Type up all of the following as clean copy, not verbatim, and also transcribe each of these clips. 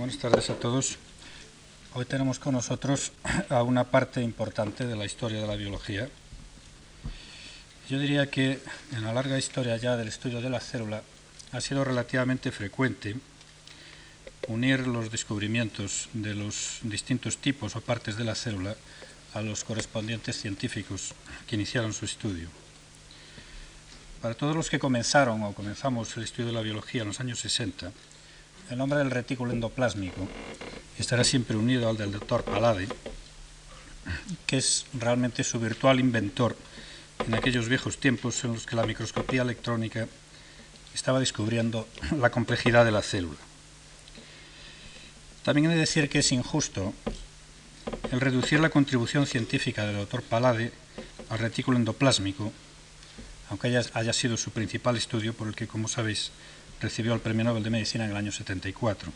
Buenas tardes a todos. Hoy tenemos con nosotros a una parte importante de la historia de la biología. Yo diría que en la larga historia ya del estudio de la célula ha sido relativamente frecuente unir los descubrimientos de los distintos tipos o partes de la célula a los correspondientes científicos que iniciaron su estudio. Para todos los que comenzamos el estudio de la biología en los años 60, el nombre del retículo endoplásmico estará siempre unido al del doctor Palade, que es realmente su virtual inventor en aquellos viejos tiempos en los que la microscopía electrónica estaba descubriendo la complejidad de la célula. También he de decir que es injusto el reducir la contribución científica del doctor Palade al retículo endoplásmico, aunque haya sido su principal estudio por el que, como sabéis, recibió el Premio Nobel de Medicina en el año 74.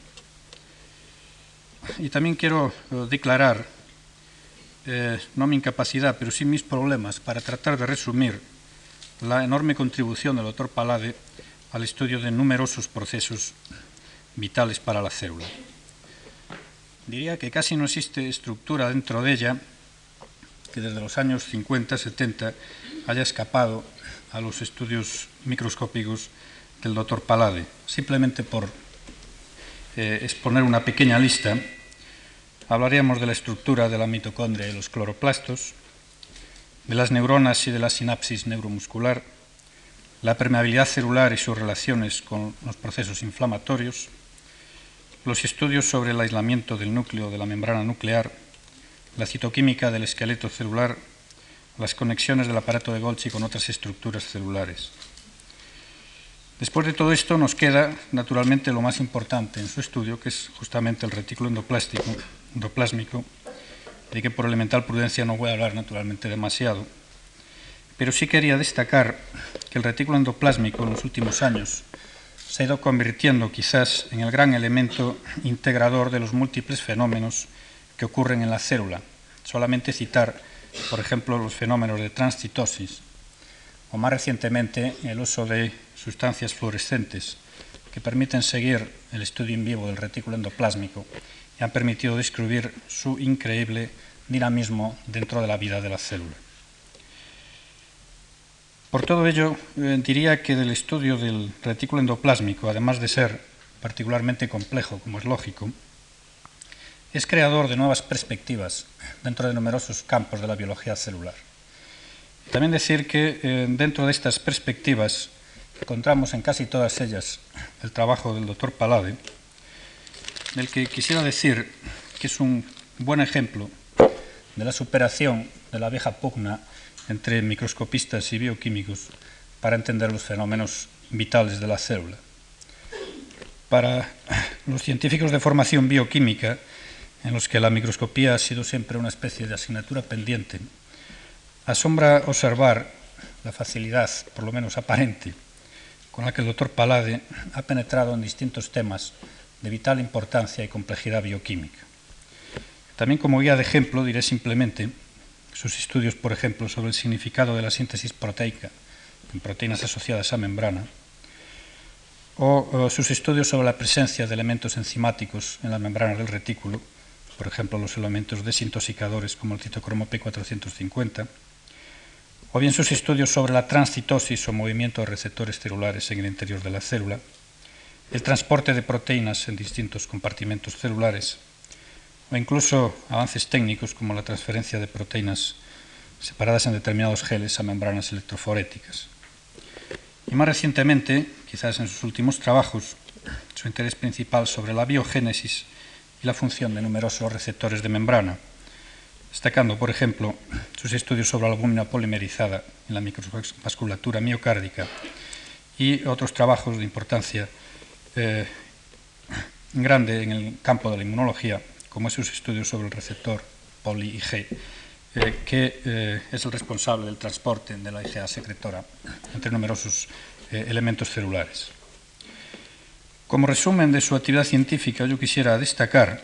Y también quiero declarar, no mi incapacidad, pero sí mis problemas para tratar de resumir la enorme contribución del doctor Palade al estudio de numerosos procesos vitales para la célula. Diría que casi no existe estructura dentro de ella que desde los años 50-70 haya escapado a los estudios microscópicos del doctor Palade. Simplemente por exponer una pequeña lista, hablaríamos de la estructura de la mitocondria y los cloroplastos, de las neuronas y de la sinapsis neuromuscular, la permeabilidad celular y sus relaciones con los procesos inflamatorios, los estudios sobre el aislamiento del núcleo de la membrana nuclear, la citoquímica del esqueleto celular, las conexiones del aparato de Golgi con otras estructuras celulares. Después de todo esto nos queda, naturalmente, lo más importante en su estudio, que es justamente el retículo endoplásmico, de que por elemental prudencia no voy a hablar naturalmente demasiado, pero sí quería destacar que el retículo endoplásmico en los últimos años se ha ido convirtiendo quizás en el gran elemento integrador de los múltiples fenómenos que ocurren en la célula. Solamente citar, por ejemplo, los fenómenos de transcitosis, o más recientemente el uso de sustancias fluorescentes que permiten seguir el estudio in vivo del retículo endoplásmico y han permitido descubrir su increíble dinamismo dentro de la vida de la célula. Por todo ello, diría que del estudio del retículo endoplásmico, además de ser particularmente complejo, como es lógico, es creador de nuevas perspectivas dentro de numerosos campos de la biología celular. También decir que dentro de estas perspectivas encontramos en casi todas ellas el trabajo del doctor Palade, del que quisiera decir que es un buen ejemplo de la superación de la vieja pugna entre microscopistas y bioquímicos para entender los fenómenos vitales de la célula. Para los científicos de formación bioquímica, en los que la microscopía ha sido siempre una especie de asignatura pendiente, asombra observar la facilidad, por lo menos aparente, con la que el doctor Palade ha penetrado en distintos temas de vital importancia y complejidad bioquímica. También como guía de ejemplo diré simplemente sus estudios, por ejemplo, sobre el significado de la síntesis proteica en proteínas asociadas a membrana, o sus estudios sobre la presencia de elementos enzimáticos en las membranas del retículo, por ejemplo, los elementos desintoxicadores como el citocromo P450, o bien sus estudios sobre la transcitosis o movimiento de receptores celulares en el interior de la célula, el transporte de proteínas en distintos compartimentos celulares, o incluso avances técnicos como la transferencia de proteínas separadas en determinados geles a membranas electroforéticas. Y más recientemente, quizás en sus últimos trabajos, su interés principal sobre la biogénesis y la función de numerosos receptores de membrana, destacando, por ejemplo, sus estudios sobre la albúmina polimerizada en la microvasculatura miocárdica y otros trabajos de importancia grande en el campo de la inmunología, como sus estudios sobre el receptor poli-Ig, que es el responsable del transporte de la IgA secretora entre numerosos elementos celulares. Como resumen de su actividad científica, yo quisiera destacar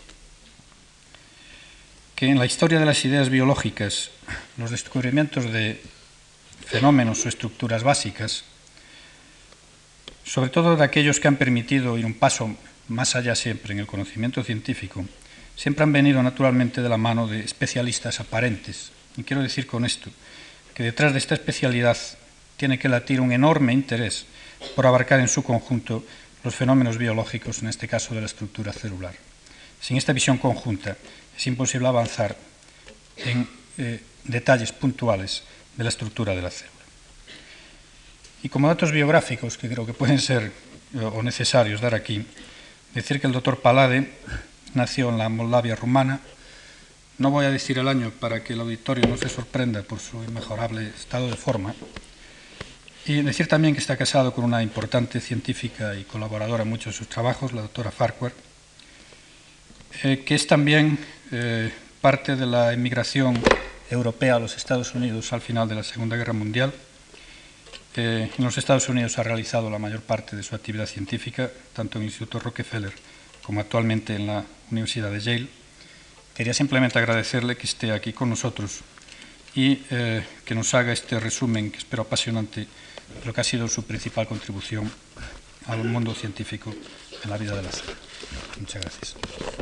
que en la historia de las ideas biológicas, los descubrimientos de fenómenos o estructuras básicas, sobre todo de aquellos que han permitido ir un paso más allá siempre en el conocimiento científico, siempre han venido naturalmente de la mano de especialistas aparentes. Y quiero decir con esto que detrás de esta especialidad tiene que latir un enorme interés por abarcar en su conjunto los fenómenos biológicos, en este caso de la estructura celular. Sin esta visión conjunta es imposible avanzar en detalles puntuales de la estructura de la célula. Y como datos biográficos que creo que pueden ser o necesarios dar aquí, decir que el doctor Palade nació en la Moldavia rumana. No voy a decir el año para que el auditorio no se sorprenda por su inmejorable estado de forma. Y decir también que está casado con una importante científica y colaboradora en muchos de sus trabajos, la doctora Farquhar, que es también parte de la emigración europea a los Estados Unidos al final de la Segunda Guerra Mundial. En los Estados Unidos ha realizado la mayor parte de su actividad científica, tanto en el Instituto Rockefeller como actualmente en la Universidad de Yale. Quería simplemente agradecerle que esté aquí con nosotros y que nos haga este resumen, que espero apasionante, de lo que ha sido su principal contribución al mundo científico en la vida de la célula. Muchas gracias.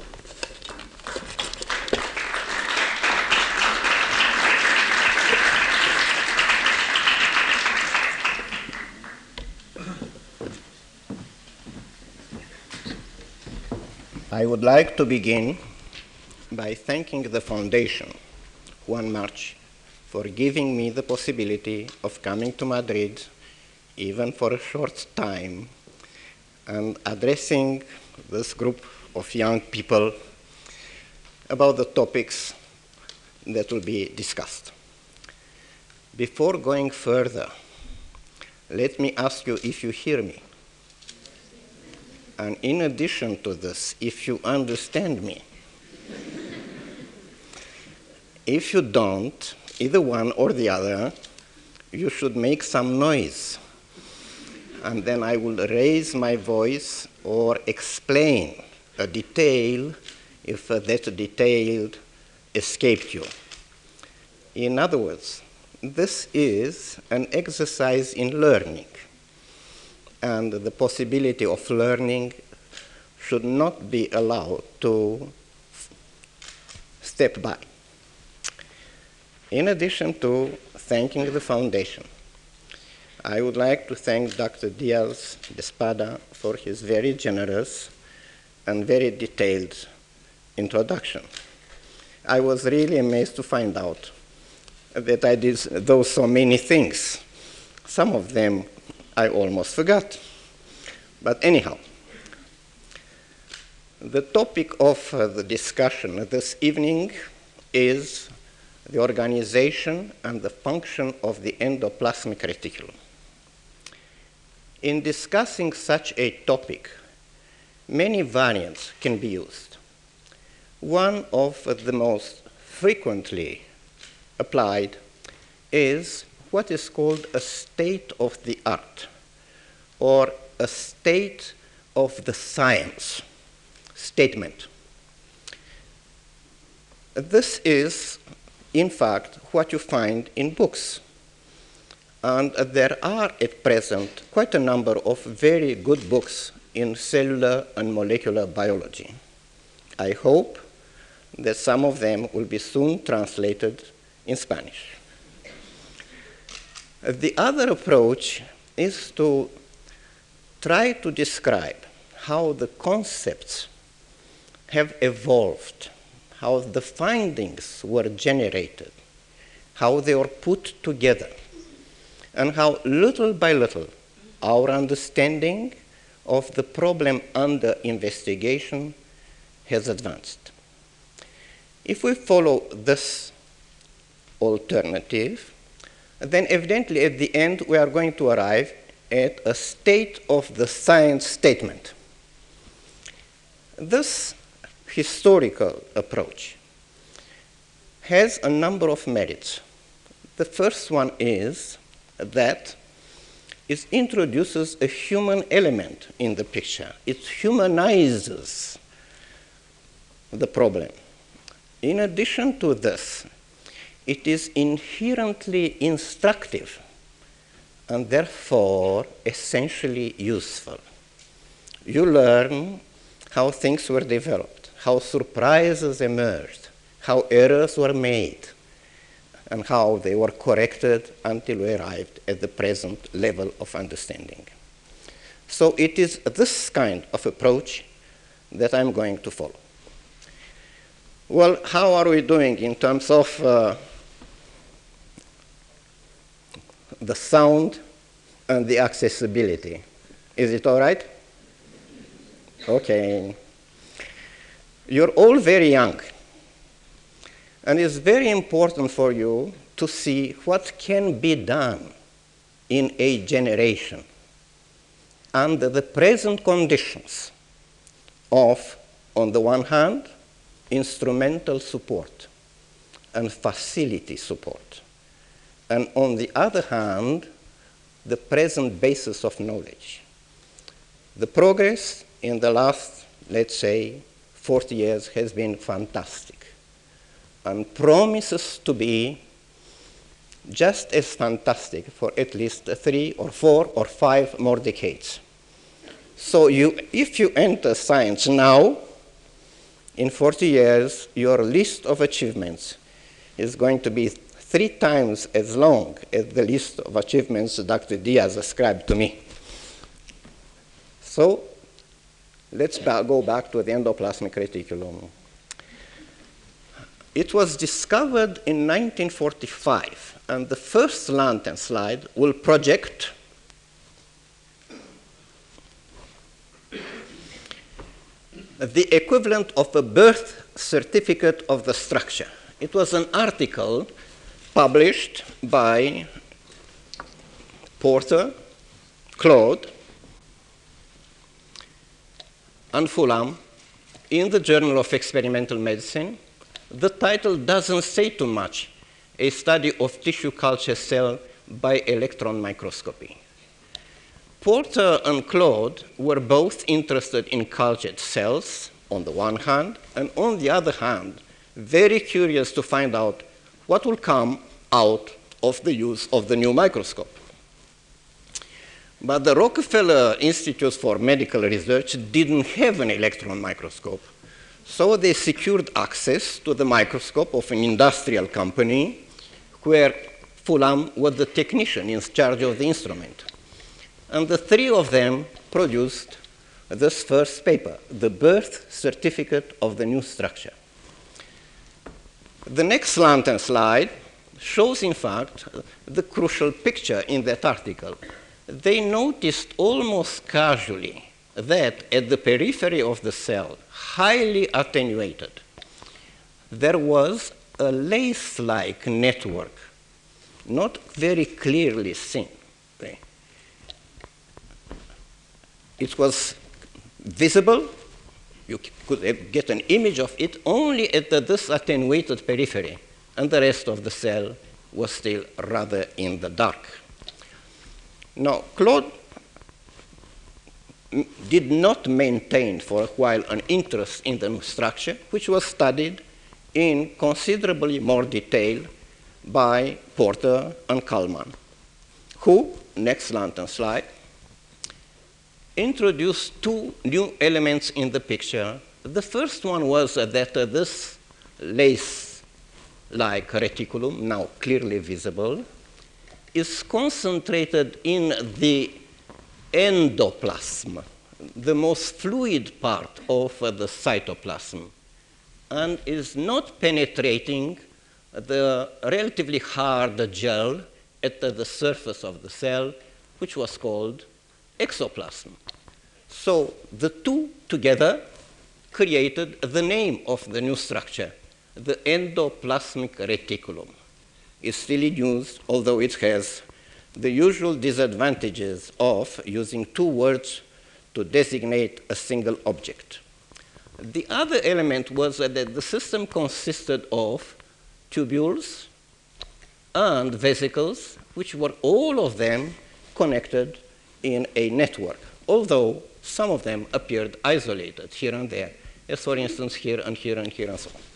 I would like to begin by thanking the Foundation, Juan March, for giving me the possibility of coming to Madrid, even for a short time, and addressing this group of young people about the topics that will be discussed. Before going further, let me ask you if you hear me. And in addition to this, if you understand me. If you don't, either one or the other, you should make some noise. And then I will raise my voice or explain a detail if that detail escaped you. In other words, this is an exercise in learning. And the possibility of learning should not be allowed to step by. In addition to thanking the Foundation, I would like to thank Dr. Diaz de Espada for his very generous and very detailed introduction. I was really amazed to find out that I did those so many things. Some of them I almost forgot. But anyhow, the topic of the discussion this evening is the organization and the function of the endoplasmic reticulum. In discussing such a topic, many variants can be used. One of the most frequently applied is what is called a state of the art, or a state of the science statement. This is, in fact, what you find in books. And there are at present quite a number of very good books in cellular and molecular biology. I hope that some of them will be soon translated in Spanish. The other approach is to try to describe how the concepts have evolved, how the findings were generated, how they were put together, and how little by little our understanding of the problem under investigation has advanced. If we follow this alternative, then evidently at the end we are going to arrive at a state of the science statement. This historical approach has a number of merits. The first one is that it introduces a human element in the picture. It humanizes the problem. In addition to this, it is inherently instructive and therefore essentially useful. You learn how things were developed, how surprises emerged, how errors were made, and how they were corrected until we arrived at the present level of understanding. So it is this kind of approach that I'm going to follow. Well, how are we doing in terms of the sound and the accessibility? Is it all right? Okay. You're all very young. And it's very important for you to see what can be done in a generation under the present conditions of, on the one hand, instrumental support and facility support, and on the other hand, the present basis of knowledge. The progress in the last, let's say, 40 years has been fantastic and promises to be just as fantastic for at least 3 or 4 or 5 more decades. So if you enter science now, in 40 years, your list of achievements is going to be 3 times as long as the list of achievements Dr. Diaz ascribed to me. So let's go back to the endoplasmic reticulum. It was discovered in 1945, and the first lantern slide will project the equivalent of a birth certificate of the structure. It was an article published by Porter, Claude, and Fulham in the Journal of Experimental Medicine. The title doesn't say too much: a study of tissue culture cell by electron microscopy. Porter and Claude were both interested in cultured cells on the one hand, and on the other hand, very curious to find out what will come out of the use of the new microscope. But the Rockefeller Institute for Medical Research didn't have an electron microscope, so they secured access to the microscope of an industrial company where Fulham was the technician in charge of the instrument. And the 3 of them produced this first paper, the birth certificate of the new structure. The next lantern slide shows, in fact, the crucial picture in that article. They noticed almost casually that at the periphery of the cell, highly attenuated, there was a lace-like network, not very clearly seen. Okay. It was visible. You could get an image of it only at this attenuated periphery, and the rest of the cell was still rather in the dark. Now, Claude did not maintain for a while an interest in the structure, which was studied in considerably more detail by Porter and Kalman, who, next lantern slide, introduced 2 new elements in the picture. The first one was that this lace-like reticulum, now clearly visible, is concentrated in the endoplasm, the most fluid part of the cytoplasm, and is not penetrating the relatively hard gel at the surface of the cell, which was called exoplasm. So the 2 together created the name of the new structure, the endoplasmic reticulum. It's still in use, although it has the usual disadvantages of using 2 words to designate a single object. The other element was that the system consisted of tubules and vesicles, which were all of them connected in a network, although some of them appeared isolated here and there, as for instance here and here and here and so on.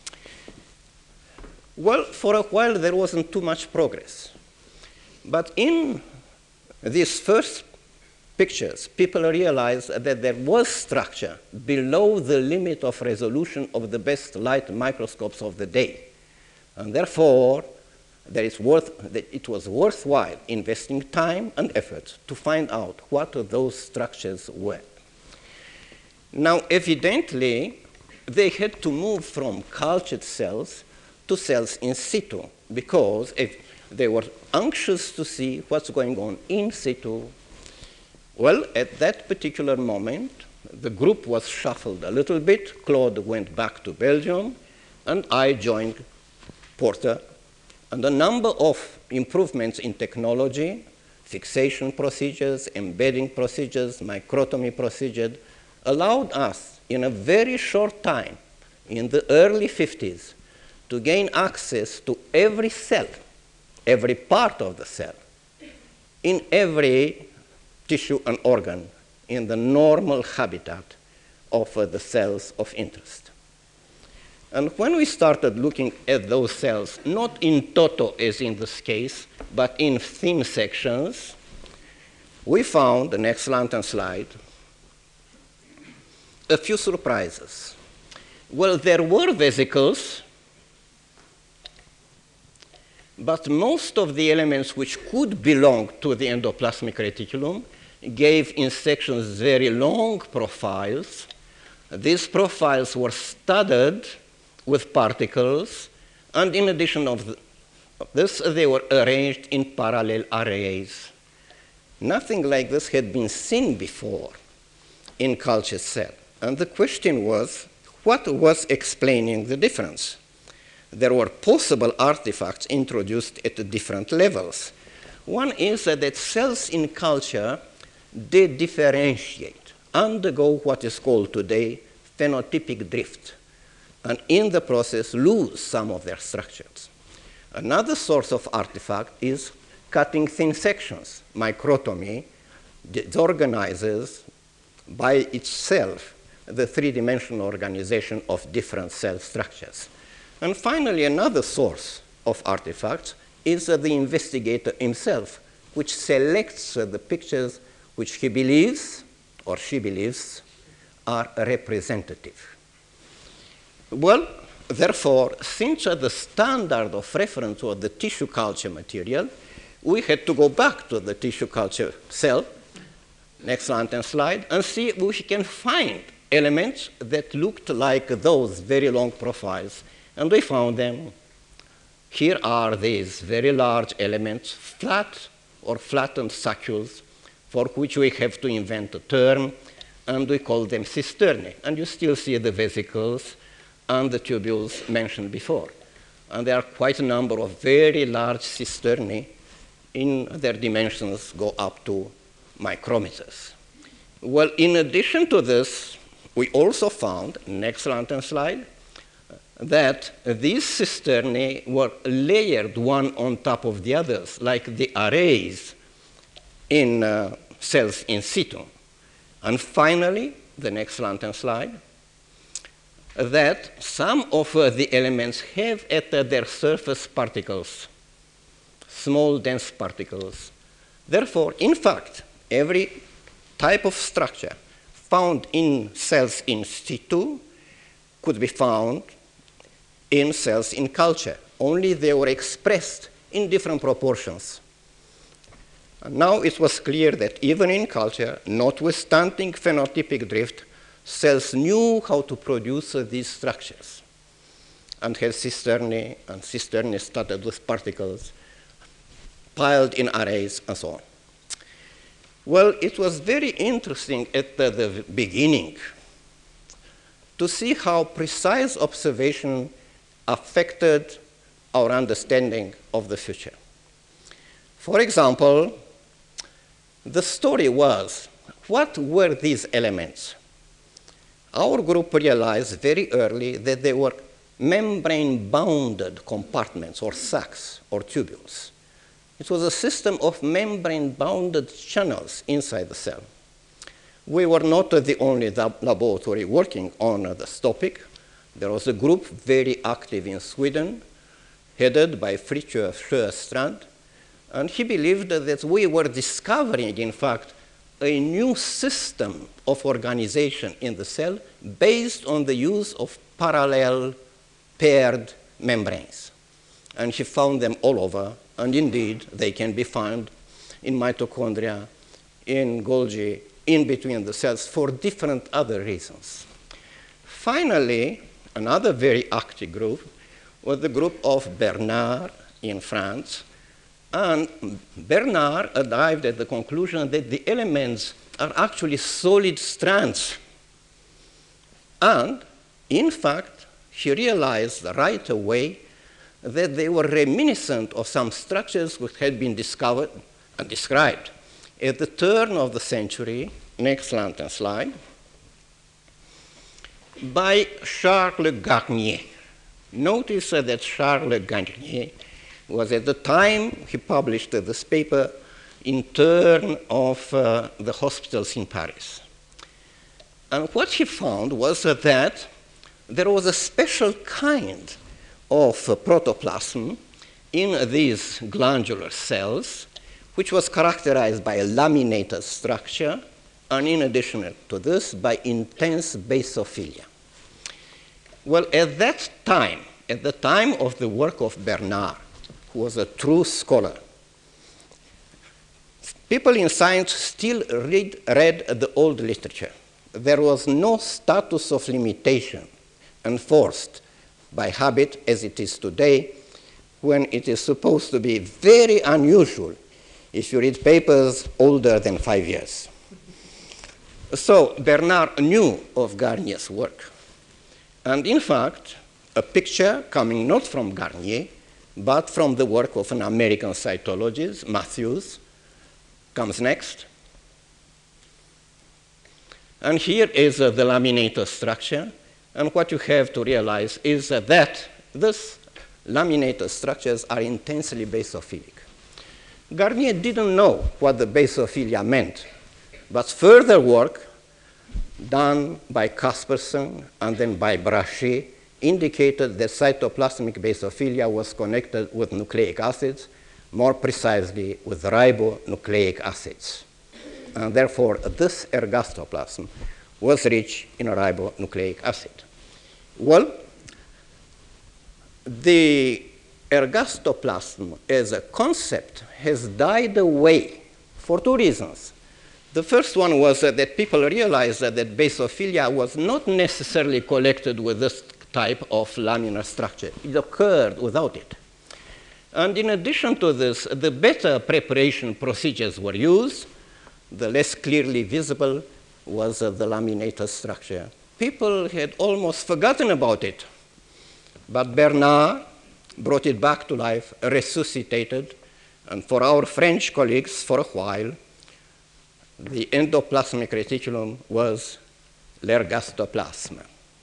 Well, for a while there wasn't too much progress. But in this first pictures, people realized that there was structure below the limit of resolution of the best light microscopes of the day. And therefore, it was worthwhile investing time and effort to find out what those structures were. Now, evidently, they had to move from cultured cells to cells in situ, because if they were anxious to see what's going on in situ. Well, at that particular moment, the group was shuffled a little bit. Claude went back to Belgium, and I joined Porter. And a number of improvements in technology, fixation procedures, embedding procedures, microtomy procedures, allowed us in a very short time, in the early 50s, to gain access to every cell, every part of the cell, in every tissue and organ, in the normal habitat of the cells of interest. And when we started looking at those cells, not in toto as in this case, but in thin sections, we found, the next lantern slide, a few surprises. Well, there were vesicles, but most of the elements which could belong to the endoplasmic reticulum gave in sections very long profiles. These profiles were studded with particles, and in addition of this, they were arranged in parallel arrays. Nothing like this had been seen before in culture cell. And the question was, what was explaining the difference? There were possible artifacts introduced at different levels. One is that cells in culture, they differentiate, undergo what is called today phenotypic drift, and in the process lose some of their structures. Another source of artifact is cutting thin sections. Microtomy disorganizes by itself the three-dimensional organization of different cell structures. And finally, another source of artifacts is the investigator himself, which selects the pictures which he believes or she believes are representative. Well, therefore, since the standard of reference was the tissue culture material, we had to go back to the tissue culture cell, next lantern slide, and see if we can find elements that looked like those very long profiles. And we found them. Here are these very large elements, flat or flattened saccules, for which we have to invent a term, and we call them cisternae. And you still see the vesicles and the tubules mentioned before. And there are quite a number of very large cisternae. In their dimensions go up to micrometers. Well, in addition to this, we also found, next lantern slide, that these cisternae were layered one on top of the others, like the arrays in cells in situ. And finally, the next lantern slide, that some of the elements have at their surface particles, small dense particles. Therefore, in fact, every type of structure found in cells in situ could be found in cells in culture, only they were expressed in different proportions. And now it was clear that even in culture, notwithstanding phenotypic drift, cells knew how to produce these structures and had cisternae, and cisternae studded with particles, piled in arrays, and so on. Well, it was very interesting at the beginning to see how precise observation affected our understanding of the future. For example, the story was, what were these elements? Our group realized very early that they were membrane-bounded compartments or sacs or tubules. It was a system of membrane-bounded channels inside the cell. We were not the only laboratory working on this topic. There was a group very active in Sweden, headed by Fritjof Sjöstrand, and he believed that we were discovering, in fact, a new system of organization in the cell based on the use of parallel paired membranes. And he found them all over, and indeed they can be found in mitochondria, in Golgi, in between the cells for different other reasons. Finally, another very active group was the group of Bernard in France. And Bernard arrived at the conclusion that the elements are actually solid strands. And in fact, he realized right away that they were reminiscent of some structures which had been discovered and described at the turn of the century, next lantern slide, by Charles Garnier. Notice that Charles Garnier was at the time he published this paper in turn of the hospitals in Paris. And what he found was that there was a special kind of protoplasm in these glandular cells, which was characterized by a laminated structure, and in addition to this, by intense basophilia. Well, at that time, at the time of the work of Bernard, who was a true scholar, people in science still read the old literature. There was no status of limitation enforced by habit as it is today, when it is supposed to be very unusual if you read papers older than 5 years. So Bernard knew of Garnier's work. And in fact, a picture coming not from Garnier, but from the work of an American cytologist, Matthews, comes next. And here is the laminator structure. And what you have to realize is that these laminator structures are intensely basophilic. Garnier didn't know what the basophilia meant, but further work done by Kaspersen and then by Brachet indicated that cytoplasmic basophilia was connected with nucleic acids, more precisely with ribonucleic acids. And therefore, this ergastoplasm was rich in ribonucleic acid. Well, the ergastoplasm as a concept has died away for two reasons. The first one was that people realized that basophilia was not necessarily collected with this type of laminar structure. It occurred without it. And in addition to this, the better preparation procedures were used. The less clearly visible was the laminator structure. People had almost forgotten about it. But Bernard brought it back to life, resuscitated, and for our French colleagues, for a while, the endoplasmic reticulum was l'ergastoplasme.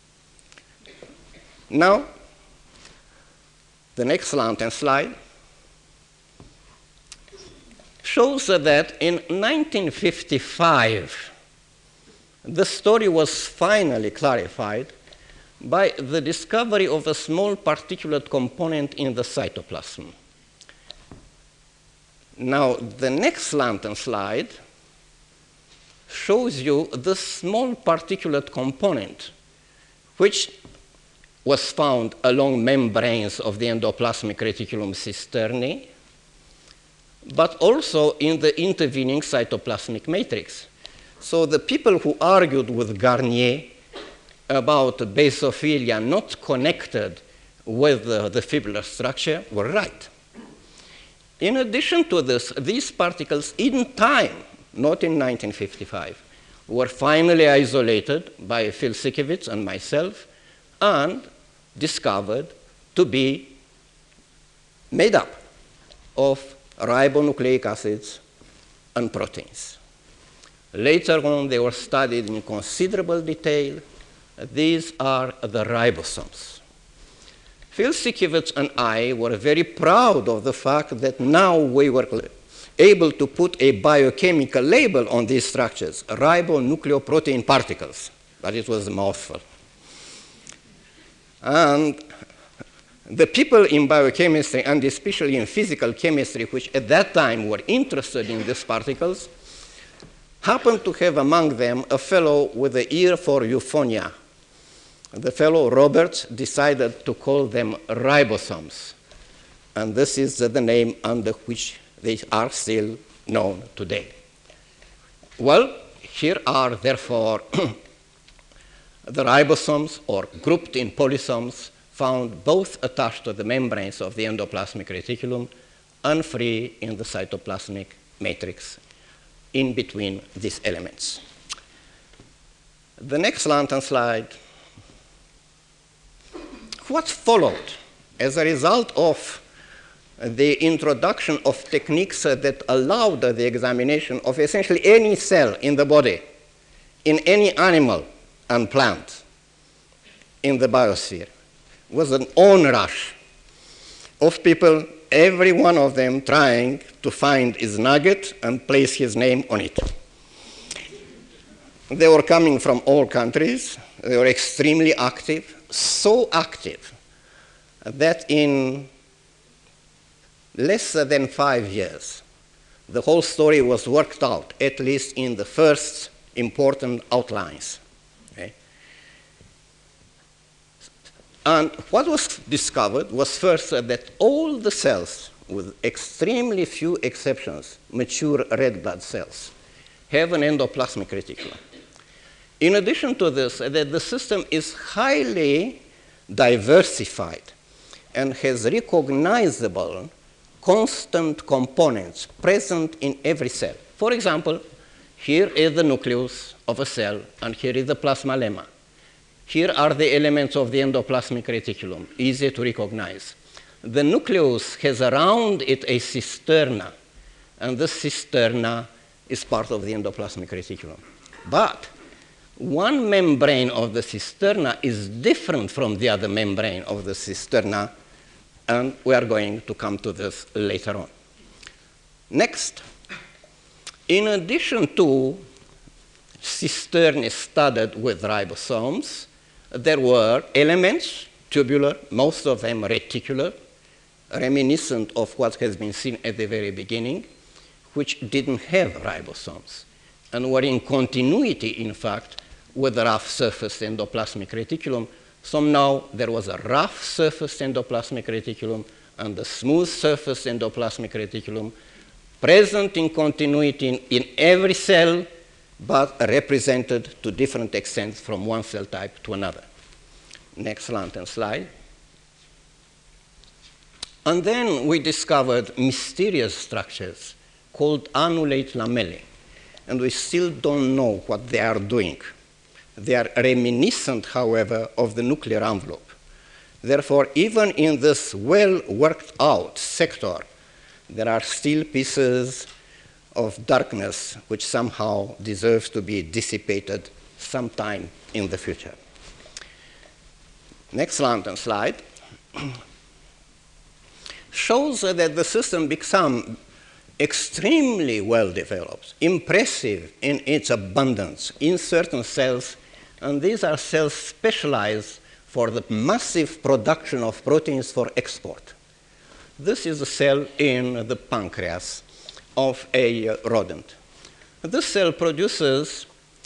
Now, the next lantern slide shows that in 1955, the story was finally clarified by the discovery of a small particulate component in the cytoplasm. Now, the next lantern slide shows you the small particulate component, which was found along membranes of the endoplasmic reticulum cisternae, but also in the intervening cytoplasmic matrix. So the people who argued with Garnier about basophilia not connected with the fibrillar structure were right. In addition to this, these particles in time, not in 1955, were finally isolated by Phil Sikiewicz and myself and discovered to be made up of ribonucleic acids and proteins. Later on, they were studied in considerable detail. These are the ribosomes. Phil Sikiewicz and I were very proud of the fact that now we were able to put a biochemical label on these structures, ribonucleoprotein particles, but it was a mouthful. And the people in biochemistry, and especially in physical chemistry, which at that time were interested in these particles, happened to have among them a fellow with an ear for euphonia. The fellow Roberts decided to call them ribosomes, and this is the name under which they are still known today. Well, here are therefore the ribosomes, or grouped in polysomes, found both attached to the membranes of the endoplasmic reticulum and free in the cytoplasmic matrix in between these elements. The next lantern slide. What followed as a result of the introduction of techniques that allowed the examination of essentially any cell in the body, in any animal and plant in the biosphere, was an onrush of people, every one of them trying to find his nugget and place his name on it. They were coming from all countries. They were extremely active, so active that in less than 5 years, the whole story was worked out, at least in the first important outlines. Okay? And what was discovered was first that all the cells, with extremely few exceptions, mature red blood cells, have an endoplasmic reticulum. In addition to this, that the system is highly diversified and has recognizable constant components present in every cell. For example, here is the nucleus of a cell, and here is the plasma lemma. Here are the elements of the endoplasmic reticulum, easy to recognize. The nucleus has around it a cisterna, and this cisterna is part of the endoplasmic reticulum. But one membrane of the cisterna is different from the other membrane of the cisterna, and we are going to come to this later on. Next, in addition to cisternae studded with ribosomes, there were elements, tubular, most of them reticular, reminiscent of what has been seen at the very beginning, which didn't have ribosomes and were in continuity, in fact, with the rough surface endoplasmic reticulum. So now there was a rough surface endoplasmic reticulum and the smooth surface endoplasmic reticulum present in continuity in every cell, but represented to different extents from one cell type to another. Next lantern slide. And then we discovered mysterious structures called annulate lamellae, and we still don't know what they are doing. They are reminiscent, however, of the nuclear envelope. Therefore, even in this well-worked-out sector, there are still pieces of darkness which somehow deserves to be dissipated sometime in the future. Next lantern slide shows that the system became extremely well developed, impressive in its abundance in certain cells, and these are cells specialized for the massive production of proteins for export. This is a cell in the pancreas of a rodent. This cell produces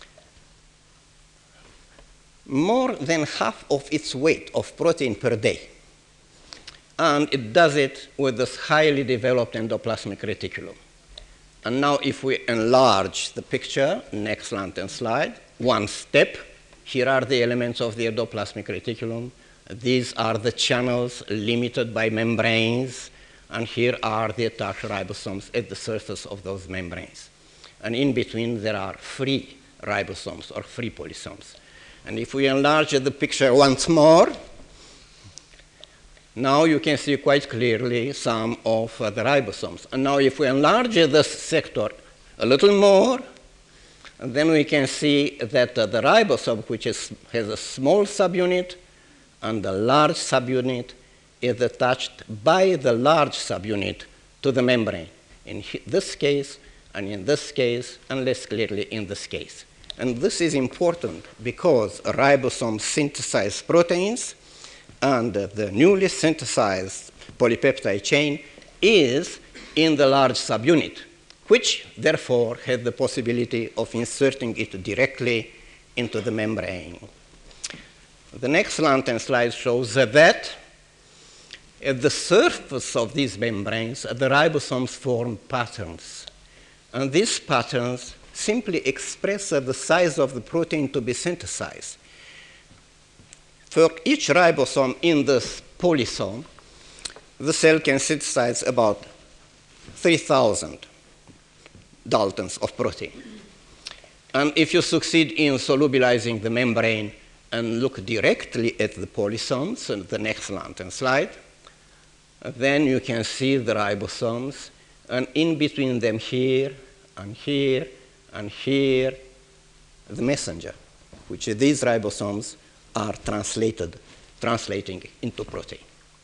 more than half of its weight of protein per day. And it does it with this highly developed endoplasmic reticulum. And now if we enlarge the picture, next lantern slide, one step, here are the elements of the endoplasmic reticulum. These are the channels limited by membranes, and here are the attached ribosomes at the surface of those membranes. And in between there are free ribosomes or free polysomes. And if we enlarge the picture once more, now you can see quite clearly some of the ribosomes. And now if we enlarge this sector a little more, then we can see that the ribosome, which has a small subunit and a large subunit, is attached by the large subunit to the membrane. In this case, and in this case, and less clearly in this case. And this is important because ribosomes synthesize proteins, and the newly synthesized polypeptide chain is in the large subunit, which therefore had the possibility of inserting it directly into the membrane. The next lantern slide shows that at the surface of these membranes, the ribosomes form patterns. And these patterns simply express the size of the protein to be synthesized. For each ribosome in this polysome, the cell can synthesize about 3,000 Daltons of protein. And if you succeed in solubilizing the membrane and look directly at the polysomes, and the next lantern slide, then you can see the ribosomes, and in between them here, and here, and here, the messenger, which these ribosomes are translating into protein.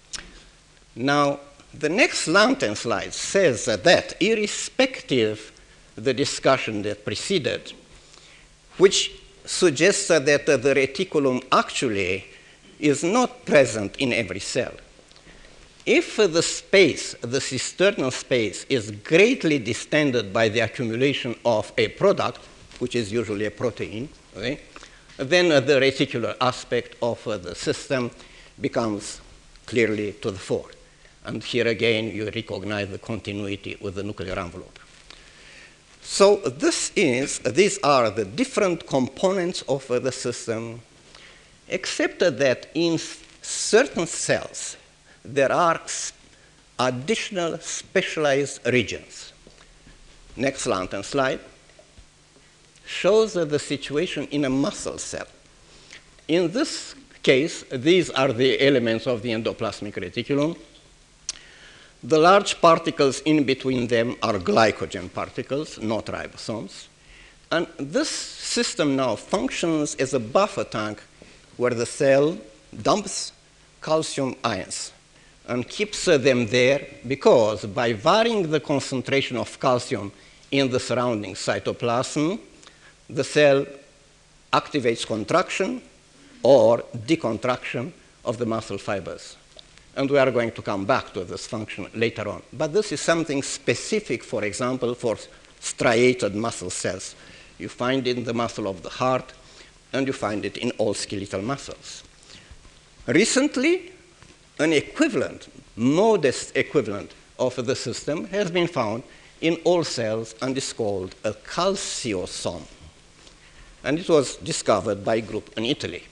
Now, the next lantern slide says that irrespective of the discussion that preceded, which suggests that the reticulum actually is not present in every cell. If the space, the cisternal space, is greatly distended by the accumulation of a product, which is usually a protein, okay, then the reticular aspect of the system becomes clearly to the fore. And here again, you recognize the continuity with the nuclear envelope. So these are the different components of the system, except that in certain cells, there are additional specialized regions. Next lantern slide shows the situation in a muscle cell. In this case, these are the elements of the endoplasmic reticulum. The large particles in between them are glycogen particles, not ribosomes. And this system now functions as a buffer tank where the cell dumps calcium ions and keeps them there because by varying the concentration of calcium in the surrounding cytoplasm, the cell activates contraction or decontraction of the muscle fibers. And we are going to come back to this function later on. But this is something specific, for example, for striated muscle cells. You find it in the muscle of the heart, and you find it in all skeletal muscles. Recently, an equivalent, modest equivalent of the system has been found in all cells and is called a calciosome. And it was discovered by a group in Italy.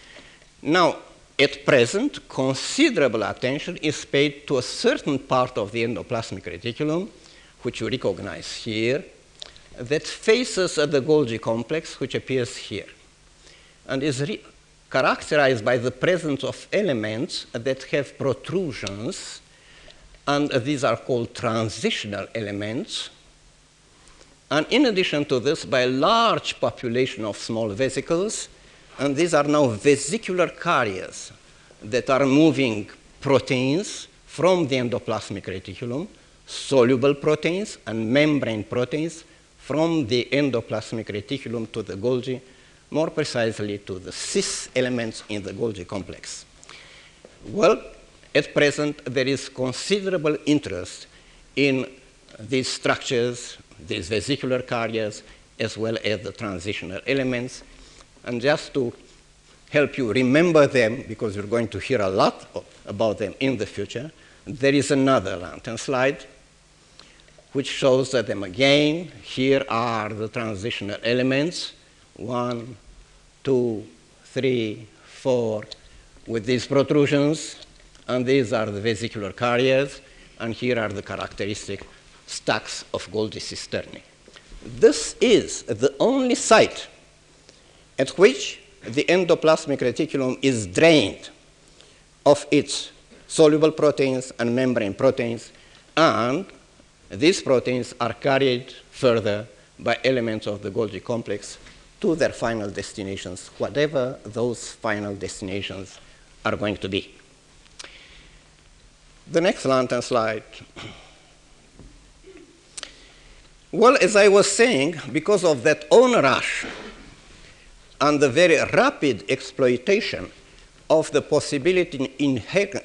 Now, at present, considerable attention is paid to a certain part of the endoplasmic reticulum, which you recognize here, that faces the Golgi complex, which appears here, and is characterized by the presence of elements that have protrusions, and these are called transitional elements. And in addition to this, by a large population of small vesicles, and these are now vesicular carriers that are moving proteins from the endoplasmic reticulum, soluble proteins and membrane proteins from the endoplasmic reticulum to the Golgi, more precisely to the cis elements in the Golgi complex. Well, at present, there is considerable interest in these structures, these vesicular carriers, as well as the transitional elements. And just to help you remember them, because you're going to hear a lot about them in the future, there is another lantern slide which shows them again. Here are the transitional elements, 1, 2, 3, 4, with these protrusions, and these are the vesicular carriers, and here are the characteristic stacks of Golgi cisternae. This is the only site at which the endoplasmic reticulum is drained of its soluble proteins and membrane proteins, and these proteins are carried further by elements of the Golgi complex to their final destinations, whatever those final destinations are going to be. The next lantern slide. Well, as I was saying, because of that onrush and the very rapid exploitation of the possibility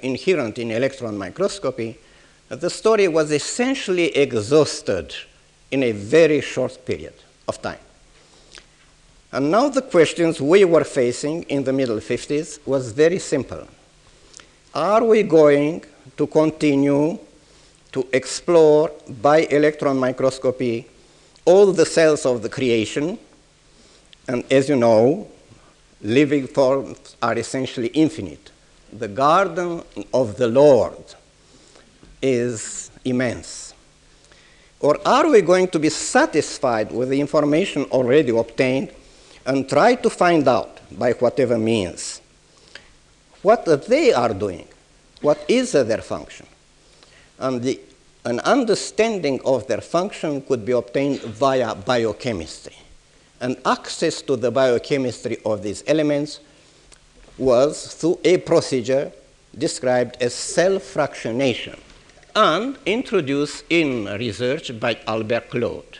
inherent in electron microscopy, the story was essentially exhausted in a very short period of time. And now the questions we were facing in the middle 50s was very simple. Are we going to continue to explore by electron microscopy all the cells of the creation? And as you know, living forms are essentially infinite. The garden of the Lord is immense. Or are we going to be satisfied with the information already obtained and try to find out, by whatever means, what they are doing, what is their function? And an understanding of their function could be obtained via biochemistry. And access to the biochemistry of these elements was through a procedure described as cell fractionation and introduced in research by Albert Claude.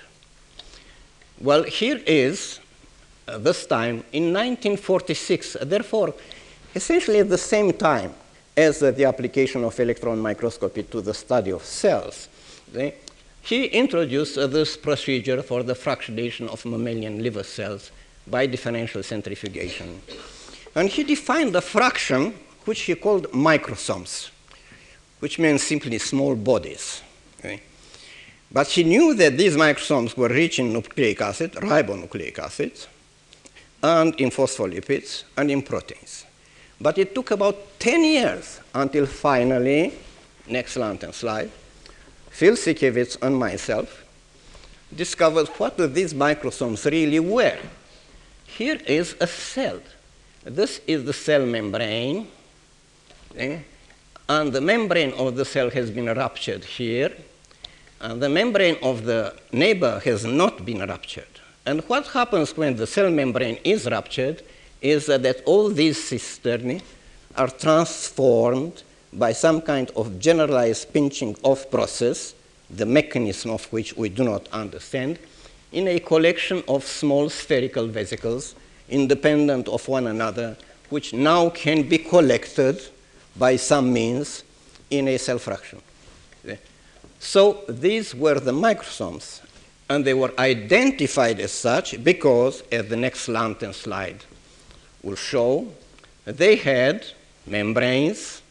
Well, here is this time in 1946, therefore, essentially at the same time as the application of electron microscopy to the study of cells. He introduced this procedure for the fractionation of mammalian liver cells by differential centrifugation. And he defined a fraction which he called microsomes, which means simply small bodies. Okay? But he knew that these microsomes were rich in nucleic acid, ribonucleic acids, and in phospholipids, and in proteins. But it took about 10 years until finally, next lantern slide, Phil Sikiewicz and myself discovered what these microsomes really were. Here is a cell. This is the cell membrane, okay? And the membrane of the cell has been ruptured here, and the membrane of the neighbor has not been ruptured. And what happens when the cell membrane is ruptured is that all these cisternae are transformed by some kind of generalized pinching off process, the mechanism of which we do not understand, in a collection of small spherical vesicles independent of one another, which now can be collected by some means in a cell fraction. So these were the microsomes, and they were identified as such because, as the next lantern slide will show, they had membranes,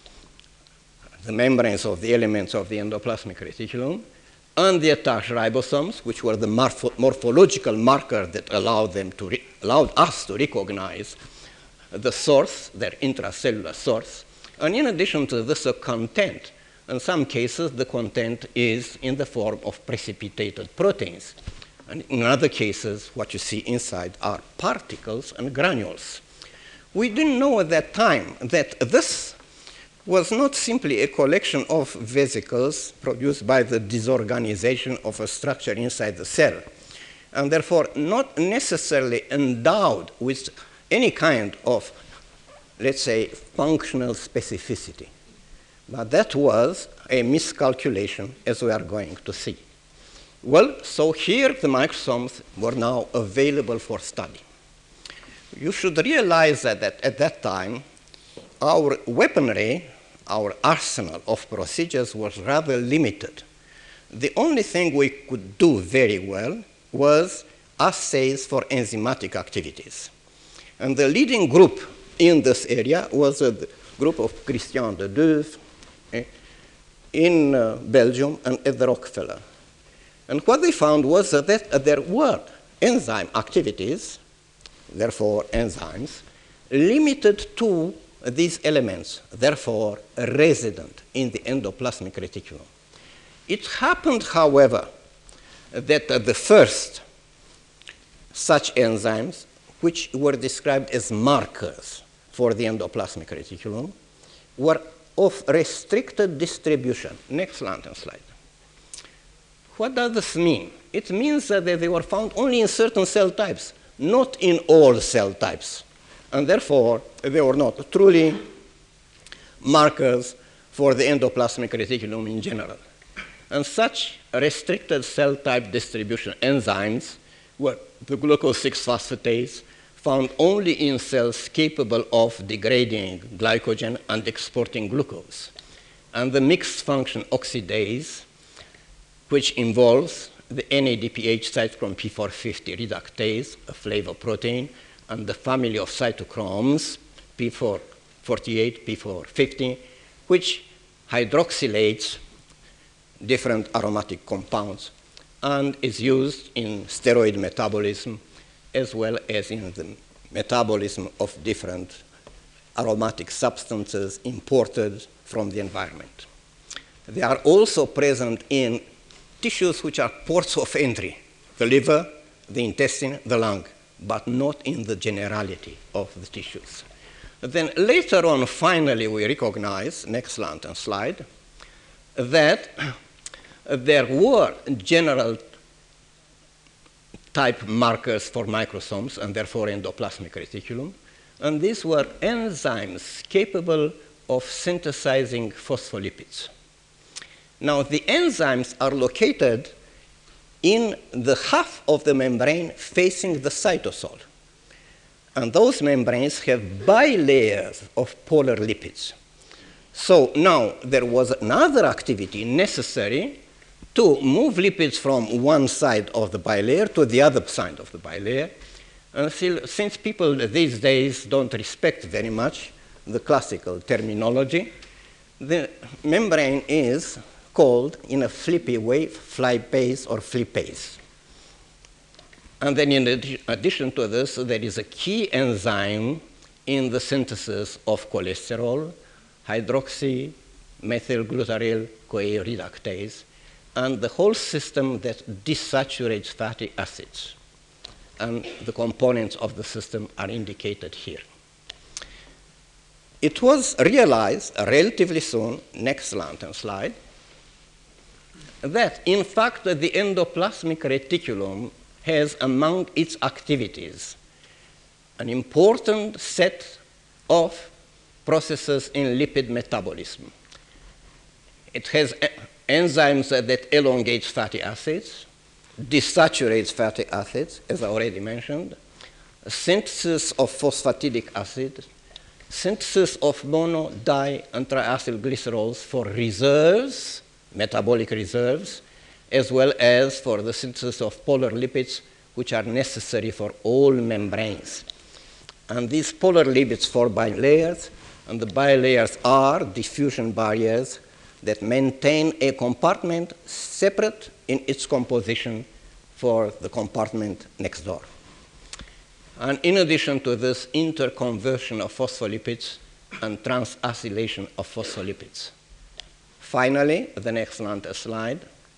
the membranes of the elements of the endoplasmic reticulum, and the attached ribosomes, which were the morphological marker that allowed us to recognize the source, their intracellular source. And in addition to this, a content. In some cases, the content is in the form of precipitated proteins. And in other cases, what you see inside are particles and granules. We didn't know at that time that this was not simply a collection of vesicles produced by the disorganization of a structure inside the cell, and therefore not necessarily endowed with any kind of, let's say, functional specificity. But that was a miscalculation, as we are going to see. Well, so here the microsomes were now available for study. You should realize that at that time, our weaponry, our arsenal of procedures was rather limited. The only thing we could do very well was assays for enzymatic activities. And the leading group in this area was a group of Christian de Duve in Belgium and at the Rockefeller. And what they found was that there were enzyme activities, therefore enzymes, limited to these elements, therefore resident in the endoplasmic reticulum. It happened, however, that the first such enzymes, which were described as markers for the endoplasmic reticulum, were of restricted distribution. Next lantern slide. What does this mean? It means that they were found only in certain cell types, not in all cell types. And therefore, they were not truly markers for the endoplasmic reticulum in general. And such restricted cell type distribution enzymes were the glucose 6-phosphatase, found only in cells capable of degrading glycogen and exporting glucose, and the mixed function oxidase, which involves the NADPH cytochrome P450 reductase, a flavor protein, and the family of cytochromes P448, P450, which hydroxylates different aromatic compounds and is used in steroid metabolism as well as in the metabolism of different aromatic substances imported from the environment. They are also present in tissues which are ports of entry, the liver, the intestine, the lung, but not in the generality of the tissues. Then later on, finally, we recognize, next slide, that there were general type markers for microsomes and therefore endoplasmic reticulum, and these were enzymes capable of synthesizing phospholipids. Now, the enzymes are located in the half of the membrane facing the cytosol. And those membranes have bilayers of polar lipids. So now there was another activity necessary to move lipids from one side of the bilayer to the other side of the bilayer. And since people these days don't respect very much the classical terminology, the membrane is called, in a flippy way, flypase or flipase. And then in addition to this, there is a key enzyme in the synthesis of cholesterol, hydroxymethylglutaryl-CoA reductase, and the whole system that desaturates fatty acids. And the components of the system are indicated here. It was realized relatively soon, next slide, that in fact the endoplasmic reticulum has among its activities an important set of processes in lipid metabolism. It has enzymes that elongate fatty acids, desaturates fatty acids, as I already mentioned, synthesis of phosphatidic acid, synthesis of mono, di, and triacyl glycerols for reserves, metabolic reserves, as well as for the synthesis of polar lipids, which are necessary for all membranes. And these polar lipids form bilayers, and the bilayers are diffusion barriers that maintain a compartment separate in its composition for the compartment next door. And in addition to this, interconversion of phospholipids and transacylation of phospholipids. Finally, the next slide.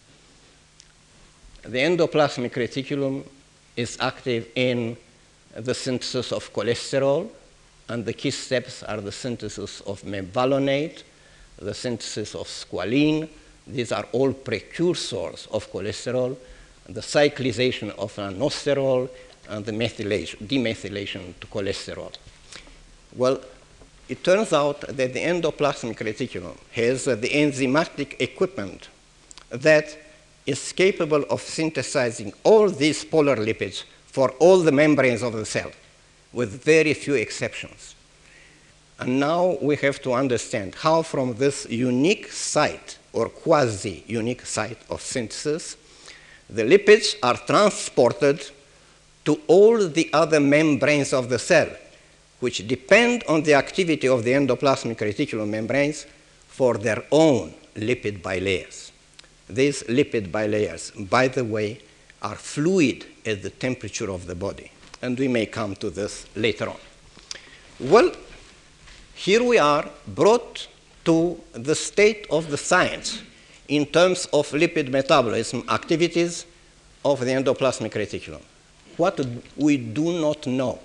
The endoplasmic reticulum is active in the synthesis of cholesterol, and the key steps are the synthesis of mevalonate, the synthesis of squalene. These are all precursors of cholesterol, the cyclization of anosterol, and the demethylation to cholesterol. Well, it turns out that the endoplasmic reticulum has the enzymatic equipment that is capable of synthesizing all these polar lipids for all the membranes of the cell, with very few exceptions. And now we have to understand how from this unique site, or quasi-unique site of synthesis, the lipids are transported to all the other membranes of the cell, which depend on the activity of the endoplasmic reticulum membranes for their own lipid bilayers. These lipid bilayers, by the way, are fluid at the temperature of the body, and we may come to this later on. Well, here we are brought to the state of the science in terms of lipid metabolism activities of the endoplasmic reticulum. What we do not know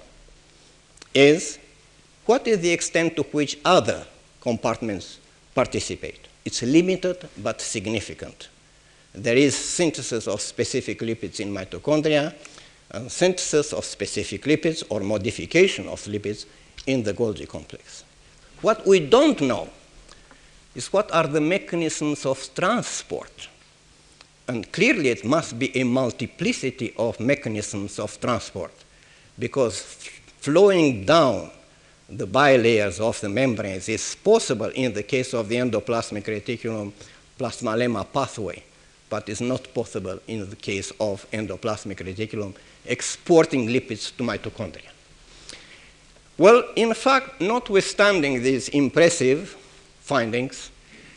is what is the extent to which other compartments participate. It's limited but significant. There is synthesis of specific lipids in mitochondria, and synthesis of specific lipids or modification of lipids in the Golgi complex. What we don't know is what are the mechanisms of transport. And clearly it must be a multiplicity of mechanisms of transport, because flowing down the bilayers of the membranes is possible in the case of the endoplasmic reticulum plasma-lemma pathway but is not possible in the case of endoplasmic reticulum exporting lipids to mitochondria. Well, in fact, notwithstanding these impressive findings,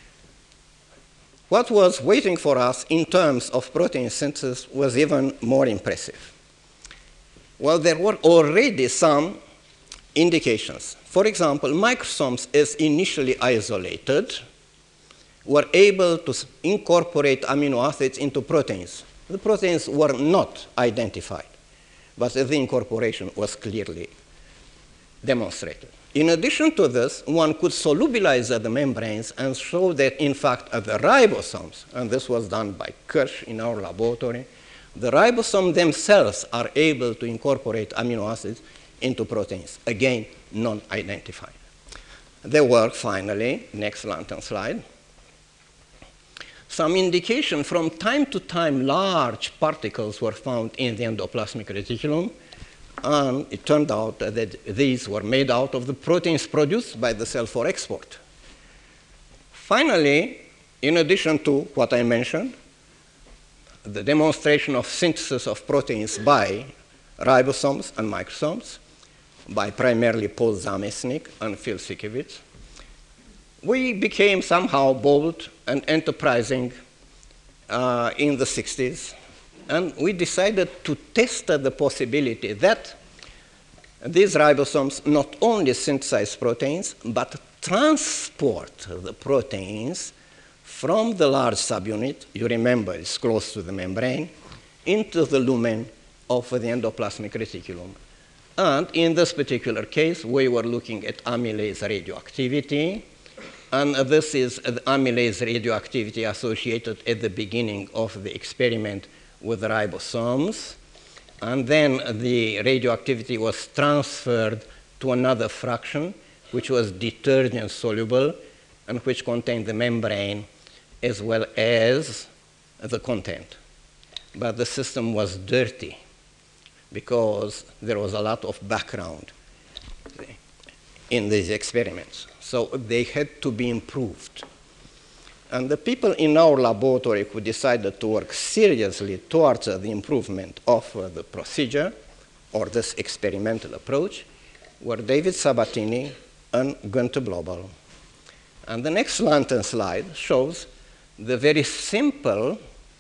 what was waiting for us in terms of protein synthesis was even more impressive. Well, there were already some indications. For example, microsomes, as initially isolated, were able to incorporate amino acids into proteins. The proteins were not identified, but the incorporation was clearly demonstrated. In addition to this, one could solubilize the membranes and show that, in fact, the ribosomes, and this was done by Kirsch in our laboratory, the ribosomes themselves are able to incorporate amino acids into proteins, again, non-identified. There were, finally, next lantern slide, some indication from time to time large particles were found in the endoplasmic reticulum, and it turned out that these were made out of the proteins produced by the cell for export. Finally, in addition to what I mentioned, the demonstration of synthesis of proteins by ribosomes and microsomes, by primarily Paul Zamesnik and Phil Sikiewicz, we became somehow bold and enterprising in the 60s, and we decided to test the possibility that these ribosomes not only synthesize proteins, but transport the proteins from the large subunit, you remember it's close to the membrane, into the lumen of the endoplasmic reticulum. And in this particular case, we were looking at amylase radioactivity, and this is the amylase radioactivity associated at the beginning of the experiment with the ribosomes. And then the radioactivity was transferred to another fraction, which was detergent soluble and which contained the membrane as well as the content. But the system was dirty because there was a lot of background in these experiments. So they had to be improved. And the people in our laboratory who decided to work seriously towards the improvement of the procedure or this experimental approach were David Sabatini and Günther Blobel. And the next lantern slide shows the very simple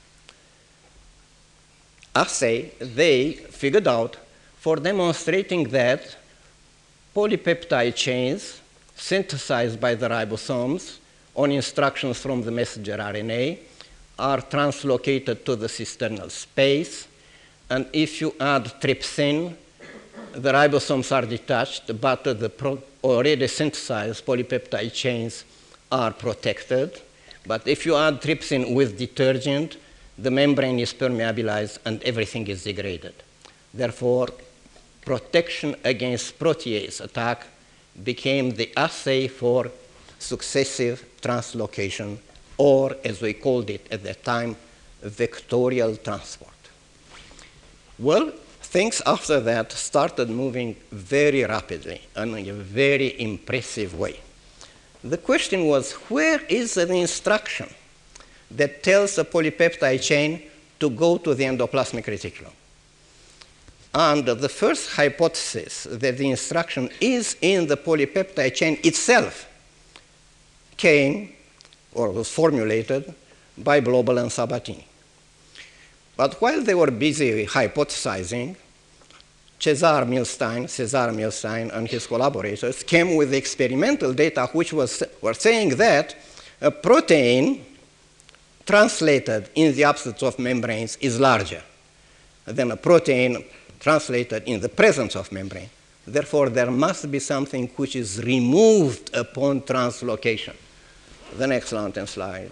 assay they figured out for demonstrating that polypeptide chains synthesized by the ribosomes on instructions from the messenger RNA are translocated to the cisternal space. And if you add trypsin, the ribosomes are detached, but the already synthesized polypeptide chains are protected. But if you add trypsin with detergent, the membrane is permeabilized and everything is degraded. Therefore, protection against protease attack became the assay for successive translocation, or as we called it at that time, vectorial transport. Well, things after that started moving very rapidly and in a very impressive way. The question was, where is the instruction that tells the polypeptide chain to go to the endoplasmic reticulum? And the first hypothesis that the instruction is in the polypeptide chain itself came or was formulated by Blobel and Sabatini. But while they were busy hypothesizing, Cesar Milstein and his collaborators came with experimental data which were saying that a protein translated in the absence of membranes is larger than a protein translated in the presence of membrane. Therefore, there must be something which is removed upon translocation. The next lantern slide.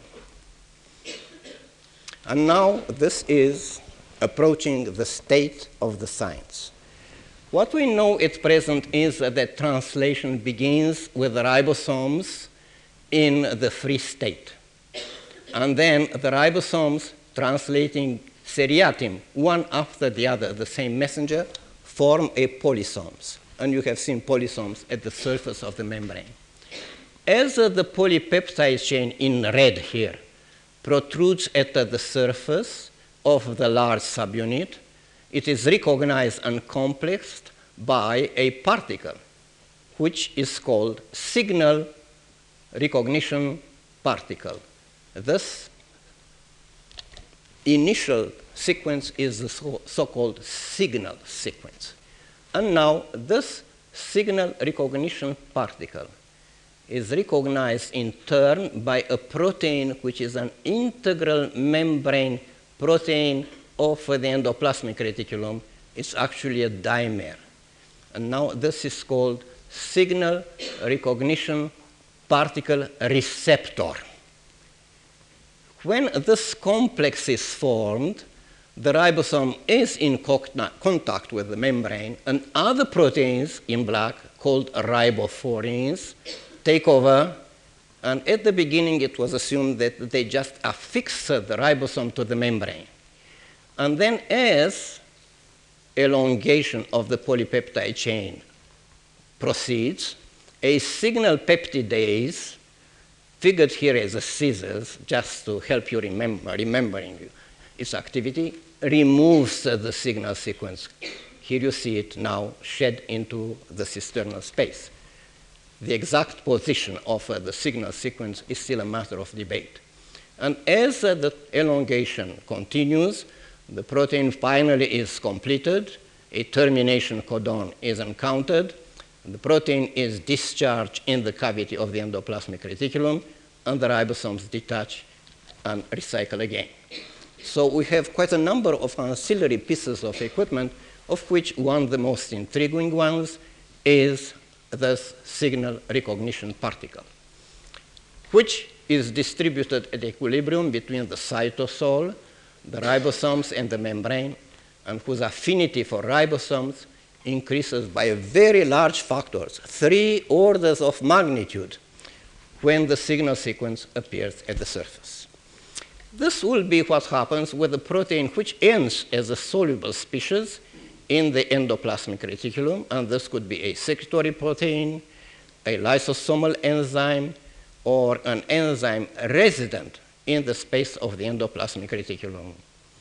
And now this is approaching the state of the science. What we know at present is that translation begins with the ribosomes in the free state. And then the ribosomes translating seriatim, one after the other, the same messenger, form a polysomes. And you have seen polysomes at the surface of the membrane. As the polypeptide chain in red here protrudes at the surface of the large subunit, it is recognized and complexed by a particle, which is called signal recognition particle. This initial sequence is the so-called signal sequence. And now this signal recognition particle is recognized in turn by a protein which is an integral membrane protein of the endoplasmic reticulum. It's actually a dimer. And now this is called signal recognition particle receptor. When this complex is formed, the ribosome is in contact with the membrane, and other proteins in black called ribophorines take over. And at the beginning, it was assumed that they just affix the ribosome to the membrane. And then as elongation of the polypeptide chain proceeds, a signal peptidase, figured here as a scissors, just to help you remembering its activity, removes the signal sequence. Here you see it now shed into the cisternal space. The exact position of the signal sequence is still a matter of debate. And as the elongation continues, the protein finally is completed, a termination codon is encountered, the protein is discharged in the cavity of the endoplasmic reticulum, and the ribosomes detach and recycle again. So we have quite a number of ancillary pieces of equipment, of which one of the most intriguing ones is this signal recognition particle, which is distributed at equilibrium between the cytosol, the ribosomes, and the membrane, and whose affinity for ribosomes increases by very large factors, 3 orders of magnitude, when the signal sequence appears at the surface. This will be what happens with a protein which ends as a soluble species in the endoplasmic reticulum, and this could be a secretory protein, a lysosomal enzyme, or an enzyme resident in the space of the endoplasmic reticulum.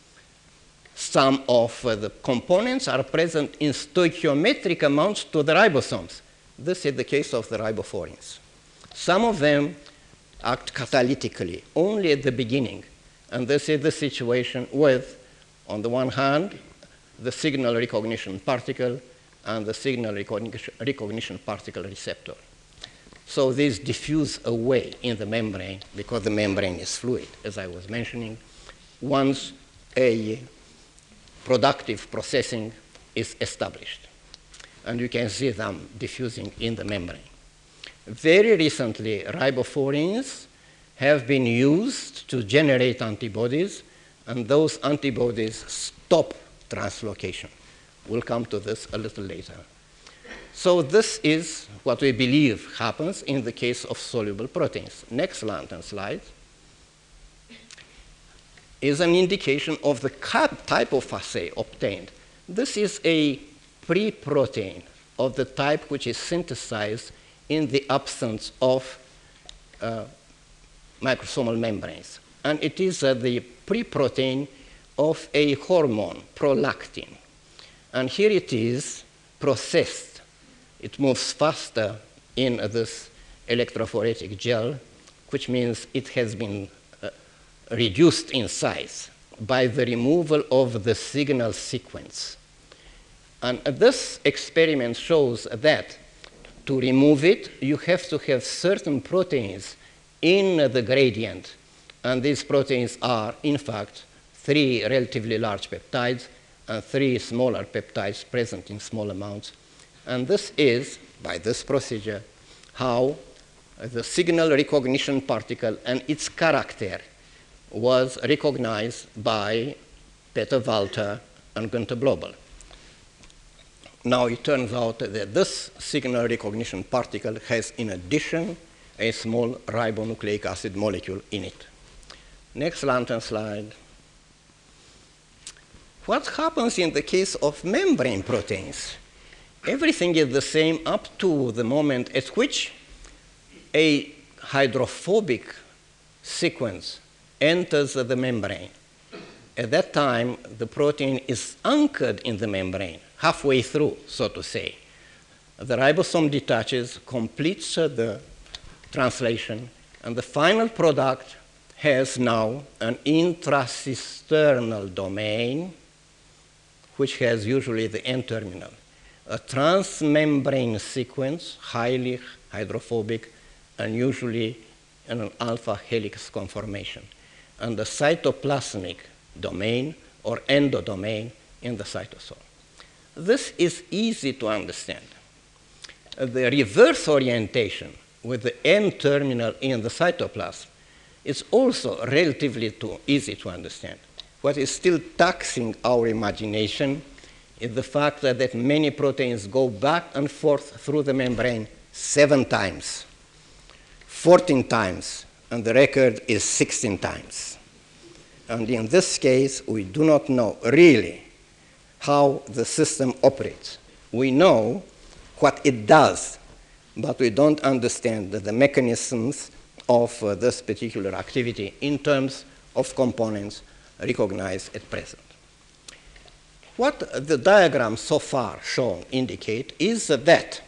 Some of the components are present in stoichiometric amounts to the ribosomes. This is the case of the ribophorines. Some of them act catalytically only at the beginning, and this is the situation with, on the one hand, the signal recognition particle and the signal recognition particle receptor. So these diffuse away in the membrane because the membrane is fluid, as I was mentioning, once a productive processing is established. And you can see them diffusing in the membrane. Very recently, ribophorines have been used to generate antibodies, and those antibodies stop translocation. We'll come to this a little later. So this is what we believe happens in the case of soluble proteins. Next lantern slide is an indication of the type of assay obtained. This is a pre-protein of the type which is synthesized in the absence of microsomal membranes. And it is the pre-protein of a hormone, prolactin. And here it is processed. It moves faster in this electrophoretic gel, which means it has been reduced in size by the removal of the signal sequence. And this experiment shows that to remove it, you have to have certain proteins in the gradient. And these proteins are, in fact, 3 relatively large peptides and 3 smaller peptides present in small amounts. And this is, by this procedure, how the signal recognition particle and its character was recognized by Peter Walter and Günther Blobel. Now it turns out that this signal recognition particle has, in addition, a small ribonucleic acid molecule in it. Next lantern slide. What happens in the case of membrane proteins? Everything is the same up to the moment at which a hydrophobic sequence enters the membrane. At that time, the protein is anchored in the membrane, halfway through, so to say. The ribosome detaches, completes the translation, and the final product has now an intracisternal domain, which has usually the N-terminal, a transmembrane sequence, highly hydrophobic, and usually in an alpha helix conformation, and the cytoplasmic domain or endodomain in the cytosol. This is easy to understand. The reverse orientation with the N-terminal in the cytoplasm is also relatively easy to understand. What is still taxing our imagination is the fact that many proteins go back and forth through the membrane 7 times, 14 times, and the record is 16 times. And in this case, we do not know really how the system operates. We know what it does, but we don't understand the mechanisms of this particular activity in terms of components recognized at present. What the diagram so far shown indicate is that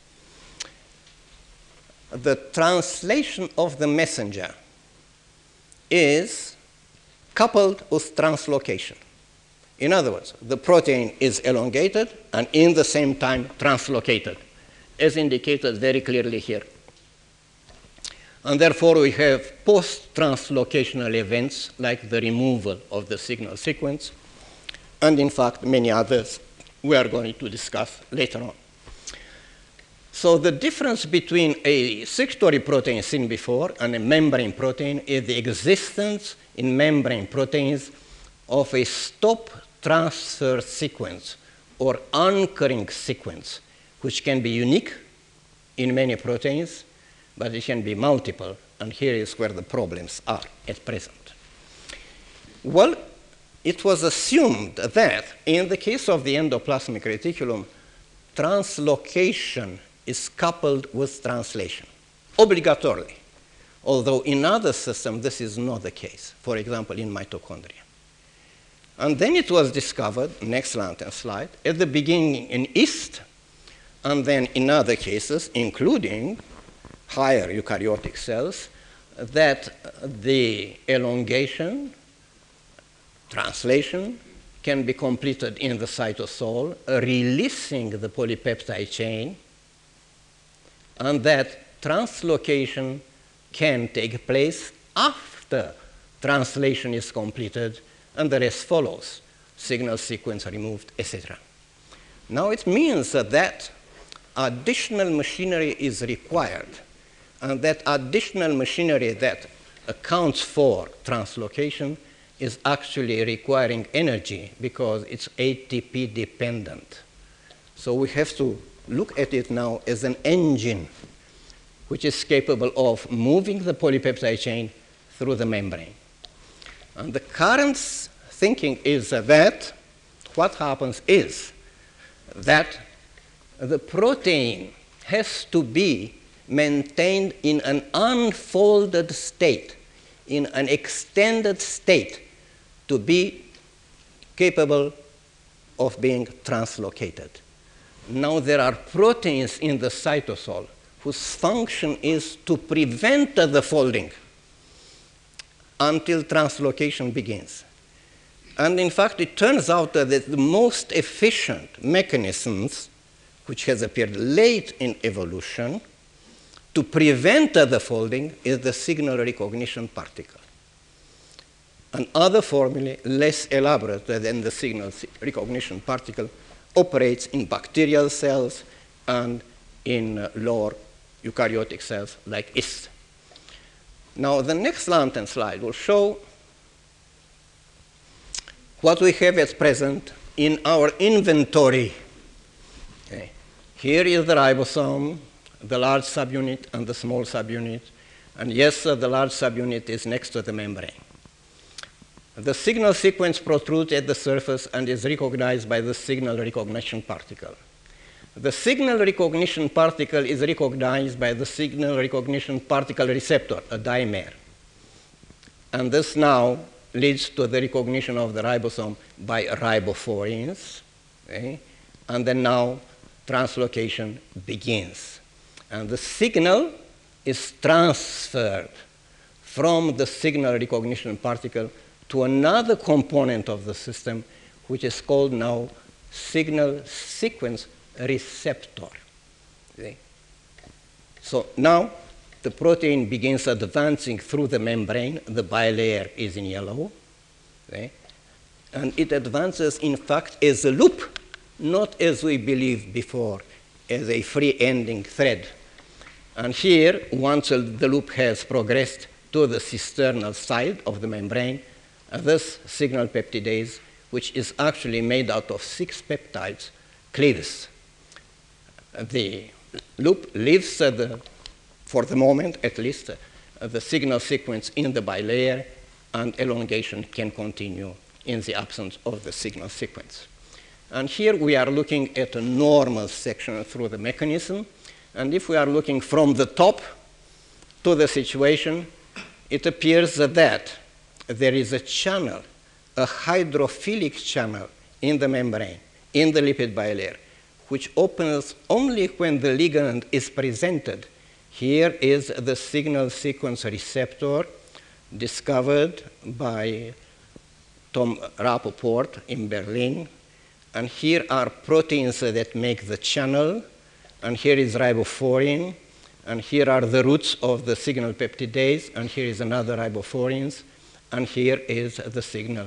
the translation of the messenger is coupled with translocation. In other words, the protein is elongated and in the same time translocated, as indicated very clearly here. And therefore, we have post-translocational events like the removal of the signal sequence, and in fact, many others we are going to discuss later on. So the difference between a secretory protein seen before and a membrane protein is the existence in membrane proteins of a stop transfer sequence or anchoring sequence, which can be unique in many proteins, but it can be multiple, and here is where the problems are at present. Well, it was assumed that in the case of the endoplasmic reticulum, translocation is coupled with translation, obligatorily, although in other systems this is not the case, for example, in mitochondria. And then it was discovered, next lantern slide, at the beginning in yeast, and then in other cases, including higher eukaryotic cells, that the elongation, translation, can be completed in the cytosol, releasing the polypeptide chain, and that translocation can take place after translation is completed, and the rest follows, signal sequence removed, etc. Now it means that additional machinery is required, and that additional machinery that accounts for translocation is actually requiring energy because it's ATP dependent. So we have to look at it now as an engine which is capable of moving the polypeptide chain through the membrane. And the current thinking is that what happens is that the protein has to be maintained in an unfolded state, in an extended state, to be capable of being translocated. Now there are proteins in the cytosol whose function is to prevent the folding until translocation begins. And in fact, it turns out that the most efficient mechanisms, which has appeared late in evolution, to prevent the folding is the signal recognition particle. And other formulae, less elaborate than the signal recognition particle, operates in bacterial cells and in lower eukaryotic cells like yeast. Now, the next lantern slide will show what we have at present in our inventory. Okay. Here is the ribosome, the large subunit and the small subunit. And yes, the large subunit is next to the membrane. The signal sequence protrudes at the surface and is recognized by the signal recognition particle. The signal recognition particle is recognized by the signal recognition particle receptor, a dimer. And this now leads to the recognition of the ribosome by ribophorines. Okay? And then now translocation begins. And the signal is transferred from the signal recognition particle to another component of the system, which is called now signal sequence receptor. Okay? So now the protein begins advancing through the membrane. The bilayer is in yellow. Okay? And it advances, in fact, as a loop, not as we believed before, as a free-ending thread. And here, once the loop has progressed to the cisternal side of the membrane, this signal peptidase, which is actually made out of 6 peptides, cleaves. The loop leaves, for the moment at least, the signal sequence in the bilayer, and elongation can continue in the absence of the signal sequence. And here we are looking at a normal section through the mechanism. And if we are looking from the top to the situation, it appears that there is a channel, a hydrophilic channel in the membrane, in the lipid bilayer, which opens only when the ligand is presented. Here is the signal sequence receptor discovered by Tom Rappaport in Berlin. And here are proteins that make the channel. And here is ribophorin. And here are the roots of the signal peptidase. And here is another ribophorins. And here is the signal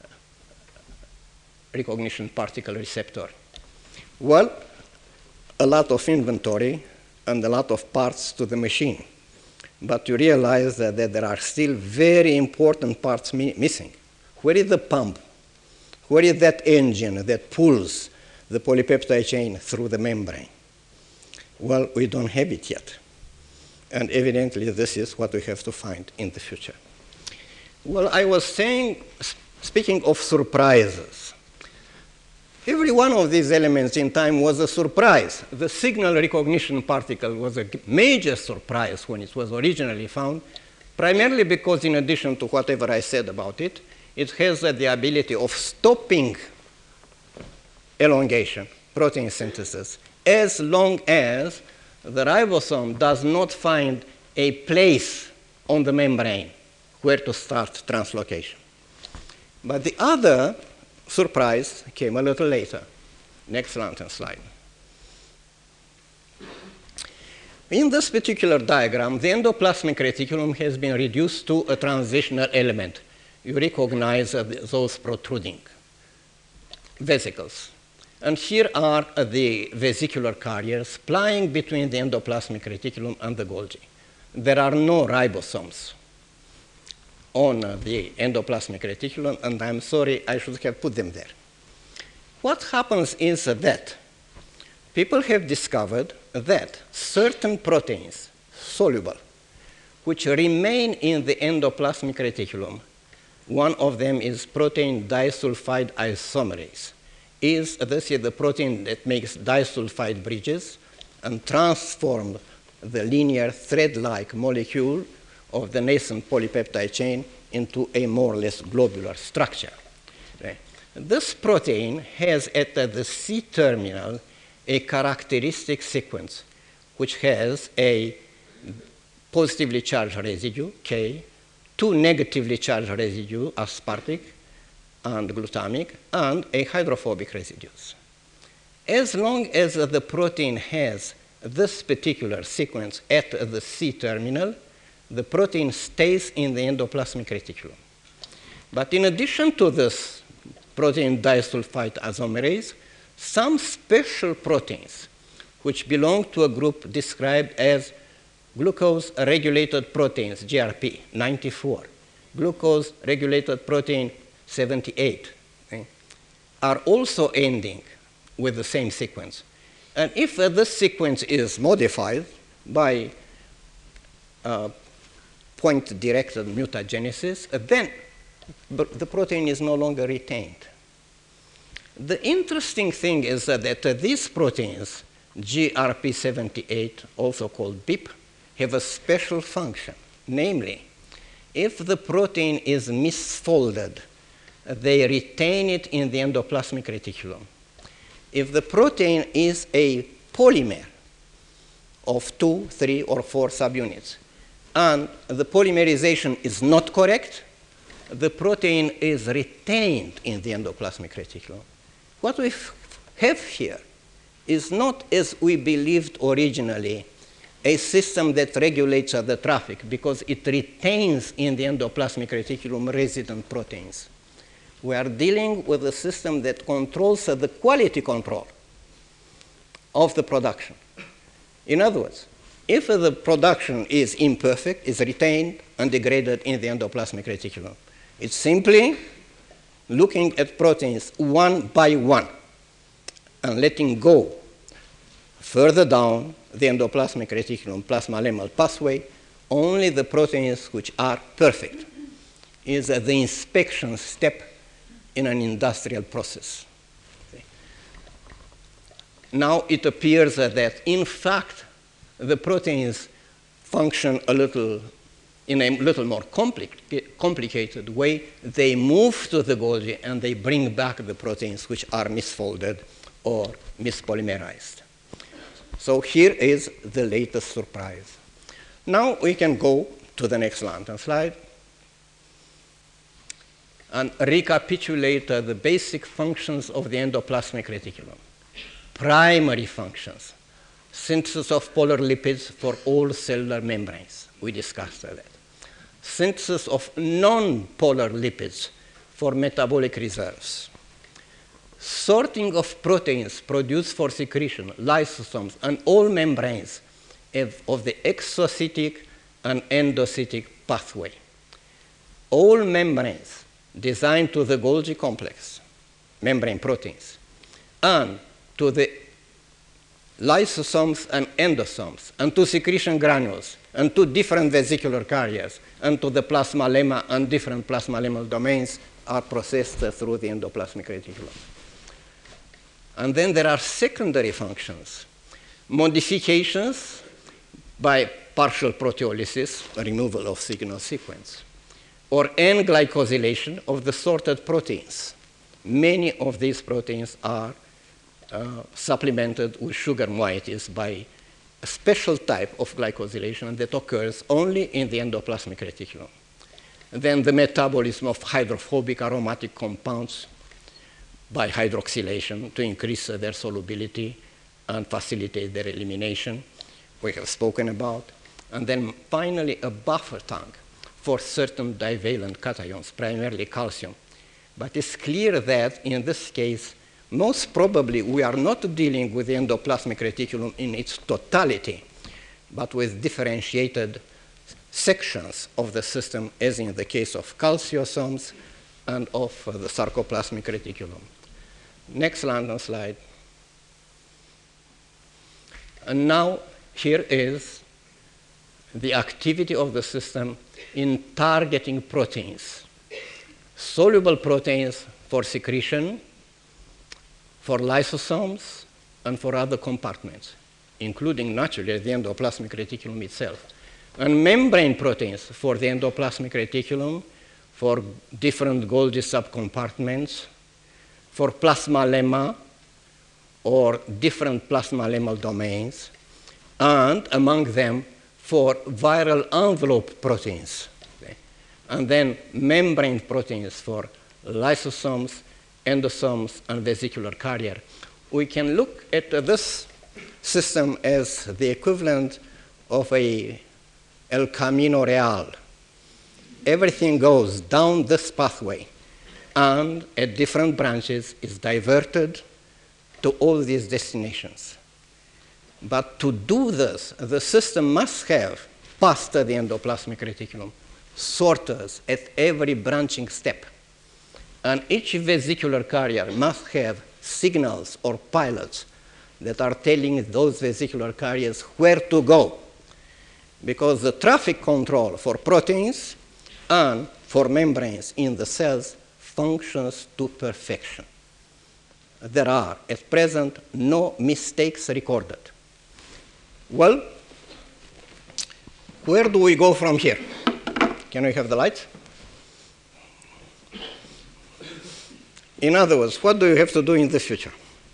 recognition particle receptor. Well, a lot of inventory and a lot of parts to the machine. But you realize that there are still very important parts missing. Where is the pump? Where is that engine that pulls the polypeptide chain through the membrane? Well, we don't have it yet. And evidently, this is what we have to find in the future. Well, I was saying, speaking of surprises, every one of these elements in time was a surprise. The signal recognition particle was a major surprise when it was originally found, primarily because in addition to whatever I said about it, it has the ability of stopping elongation, protein synthesis, as long as the ribosome does not find a place on the membrane where to start translocation. But the other surprise came a little later. Next lantern slide. In this particular diagram, the endoplasmic reticulum has been reduced to a transitional element. You recognize those protruding vesicles. And here are the vesicular carriers plying between the endoplasmic reticulum and the Golgi. There are no ribosomes on the endoplasmic reticulum, and I'm sorry, I should have put them there. What happens is that people have discovered that certain proteins, soluble, which remain in the endoplasmic reticulum, one of them is protein disulfide isomerase. This is the protein that makes disulfide bridges and transforms the linear thread-like molecule of the nascent polypeptide chain into a more or less globular structure. Okay. This protein has at the C-terminal a characteristic sequence which has a positively charged residue, K, 2 negatively charged residues, aspartic and glutamic, and a hydrophobic residues. As long as the protein has this particular sequence at the C-terminal, the protein stays in the endoplasmic reticulum. But in addition to this protein disulfide isomerase, some special proteins, which belong to a group described as glucose-regulated proteins, GRP 94, glucose-regulated protein 78, okay, are also ending with the same sequence. And if this sequence is modified by point-directed mutagenesis, then the protein is no longer retained. The interesting thing is that these proteins, GRP78, also called BIP, have a special function. Namely, if the protein is misfolded, they retain it in the endoplasmic reticulum. If the protein is a polymer of 2, 3, or 4 subunits, and the polymerization is not correct, the protein is retained in the endoplasmic reticulum. What we have here is not, as we believed originally, a system that regulates the traffic because it retains in the endoplasmic reticulum resident proteins. We are dealing with a system that controls the quality control of the production. In other words, if the production is imperfect, is retained and degraded in the endoplasmic reticulum, it's simply looking at proteins one by one and letting go further down the endoplasmic reticulum plasma-lemmal pathway only the proteins which are perfect. Is the inspection step in an industrial process. Now it appears that in fact the proteins function in a little more complicated way. They move to the Golgi and they bring back the proteins which are misfolded or mispolymerized. So here is the latest surprise. Now we can go to the next lantern slide and recapitulate the basic functions of the endoplasmic reticulum. Primary functions: synthesis of polar lipids for all cellular membranes. We discussed that. Synthesis of non-polar lipids for metabolic reserves. Sorting of proteins produced for secretion, lysosomes, and all membranes of the exocytic and endocytic pathway. All membranes designed to the Golgi complex, membrane proteins, and to the lysosomes and endosomes, and to secretion granules, and to different vesicular carriers, and to the plasma lemma and different plasma lemmal domains are processed through the endoplasmic reticulum. And then there are secondary functions, modifications by partial proteolysis, removal of signal sequence, or N-glycosylation of the sorted proteins. Many of these proteins are supplemented with sugar moieties by a special type of glycosylation that occurs only in the endoplasmic reticulum. And then the metabolism of hydrophobic aromatic compounds by hydroxylation to increase their solubility and facilitate their elimination, we have spoken about. And then finally a buffer tank for certain divalent cations, primarily calcium. But it's clear that in this case, most probably we are not dealing with the endoplasmic reticulum in its totality, but with differentiated sections of the system, as in the case of calciosomes and of the sarcoplasmic reticulum. Next lantern slide. And now here is the activity of the system in targeting proteins. Soluble proteins for secretion, for lysosomes, and for other compartments, including naturally the endoplasmic reticulum itself. And membrane proteins for the endoplasmic reticulum, for different Golgi subcompartments, for plasma lemma or different plasma lemmal domains, and among them for viral envelope proteins. Okay? And then membrane proteins for lysosomes, endosomes, and vesicular carrier. We can look at this system as the equivalent of a El Camino Real. Everything goes down this pathway and at different branches is diverted to all these destinations. But to do this, the system must have, past the endoplasmic reticulum, sorters at every branching step. And each vesicular carrier must have signals or pilots that are telling those vesicular carriers where to go. Because the traffic control for proteins and for membranes in the cells functions to perfection. There are, at present, no mistakes recorded. Well, where do we go from here? Can we have the lights? In other words, what do you have to do in the future?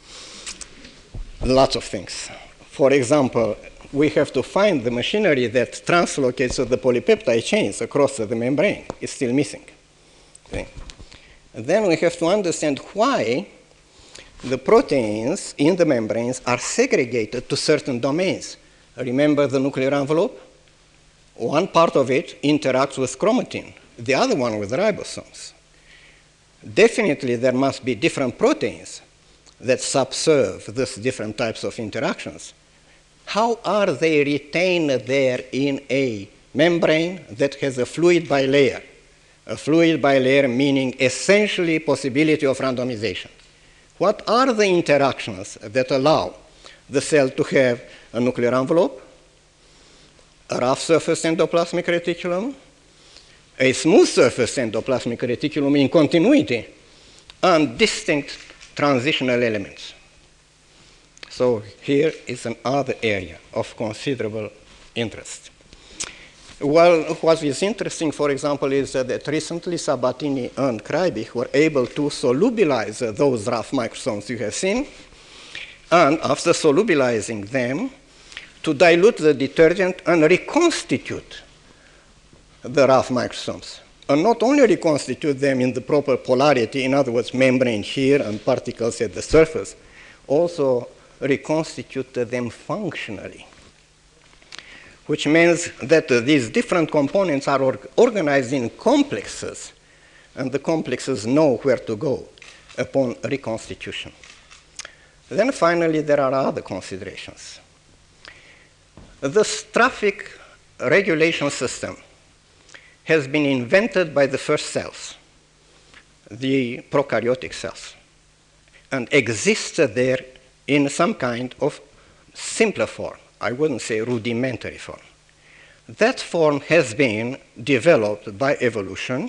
Lots of things. For example, we have to find the machinery that translocates the polypeptide chains across the membrane. It's still missing. Okay. And then we have to understand why the proteins in the membranes are segregated to certain domains. Remember the nuclear envelope? One part of it interacts with chromatin, the other one with ribosomes. Definitely there must be different proteins that subserve these different types of interactions. How are they retained there in a membrane that has a fluid bilayer? A fluid bilayer meaning essentially possibility of randomization. What are the interactions that allow the cell to have a nuclear envelope, a rough surface endoplasmic reticulum, a smooth surface endoplasmic reticulum in continuity, and distinct transitional elements? So here is another area of considerable interest. Well, what is interesting, for example, is that recently Sabatini and Kreibich were able to solubilize those rough microsomes you have seen, and after solubilizing them, to dilute the detergent and reconstitute the rough microsomes. And not only reconstitute them in the proper polarity, in other words, membrane here and particles at the surface, also reconstitute them functionally, which means that these different components are organized in complexes, and the complexes know where to go upon reconstitution. Then finally, there are other considerations. This traffic regulation system has been invented by the first cells, the prokaryotic cells, and existed there in some kind of simpler form. I wouldn't say rudimentary form. That form has been developed by evolution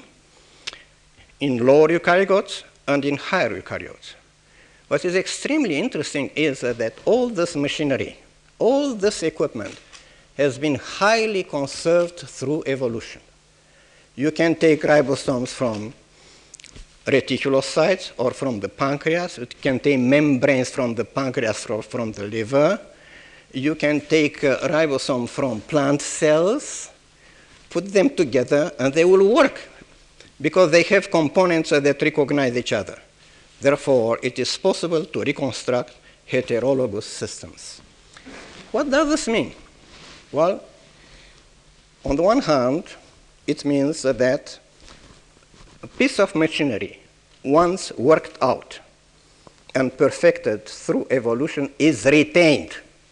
in lower eukaryotes and in higher eukaryotes. What is extremely interesting is that all this machinery, all this equipment has been highly conserved through evolution. You can take ribosomes from reticulocytes or from the pancreas. You can take membranes from the pancreas or from the liver. You can take ribosome from plant cells, put them together, and they will work because they have components that recognize each other. Therefore, it is possible to reconstruct heterologous systems. What does this mean? Well, on the one hand, it means that a piece of machinery, once worked out and perfected through evolution, is retained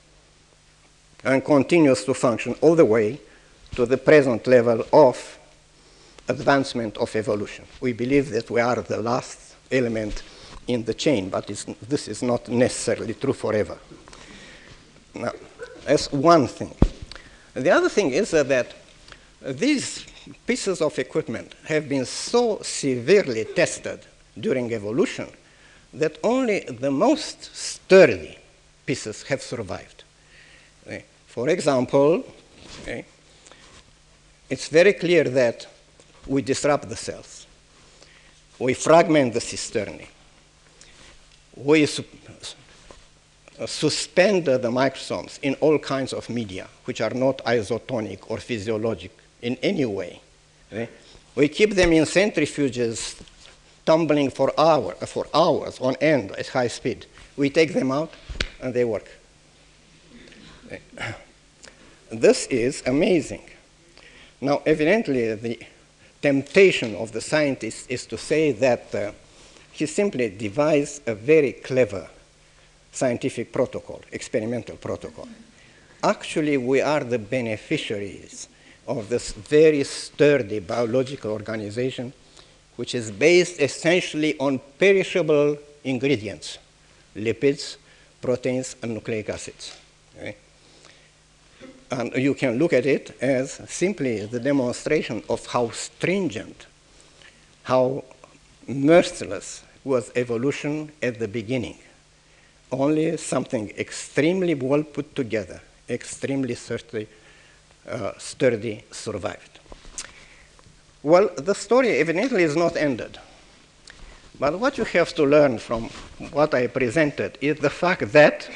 and continues to function all the way to the present level of advancement of evolution. We believe that we are the last element in the chain, but this is not necessarily true forever. Now, that's one thing. The other thing is that these pieces of equipment have been so severely tested during evolution that only the most sturdy pieces have survived. For example, it's very clear that we disrupt the cells. We fragment the cisternae. We suspend the microsomes in all kinds of media, which are not isotonic or physiologic in any way. We keep them in centrifuges tumbling for hours on end at high speed. We take them out, and they work. This is amazing. Now, evidently, the temptation of the scientist is to say that he simply devised a very clever scientific protocol, experimental protocol. Actually, we are the beneficiaries of this very sturdy biological organization, which is based essentially on perishable ingredients, lipids, proteins, and nucleic acids. Okay? And you can look at it as simply the demonstration of how stringent, how merciless was evolution at the beginning. Only something extremely well put together, extremely sturdy survived. Well, the story evidently is not ended. But what you have to learn from what I presented is the fact that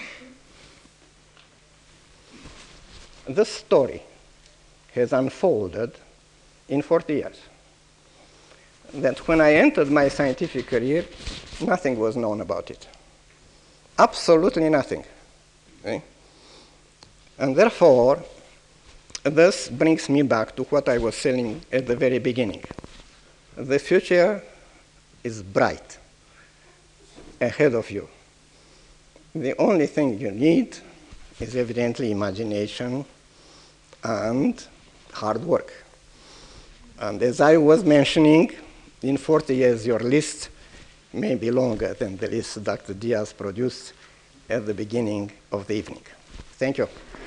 this story has unfolded in 40 years. That when I entered my scientific career, nothing was known about it. Absolutely nothing. Okay? And therefore, this brings me back to what I was saying at the very beginning. The future is bright ahead of you. The only thing you need is evidently imagination and hard work. And as I was mentioning, in 40 years, your list may be longer than the list Dr. Diaz produced at the beginning of the evening. Thank you.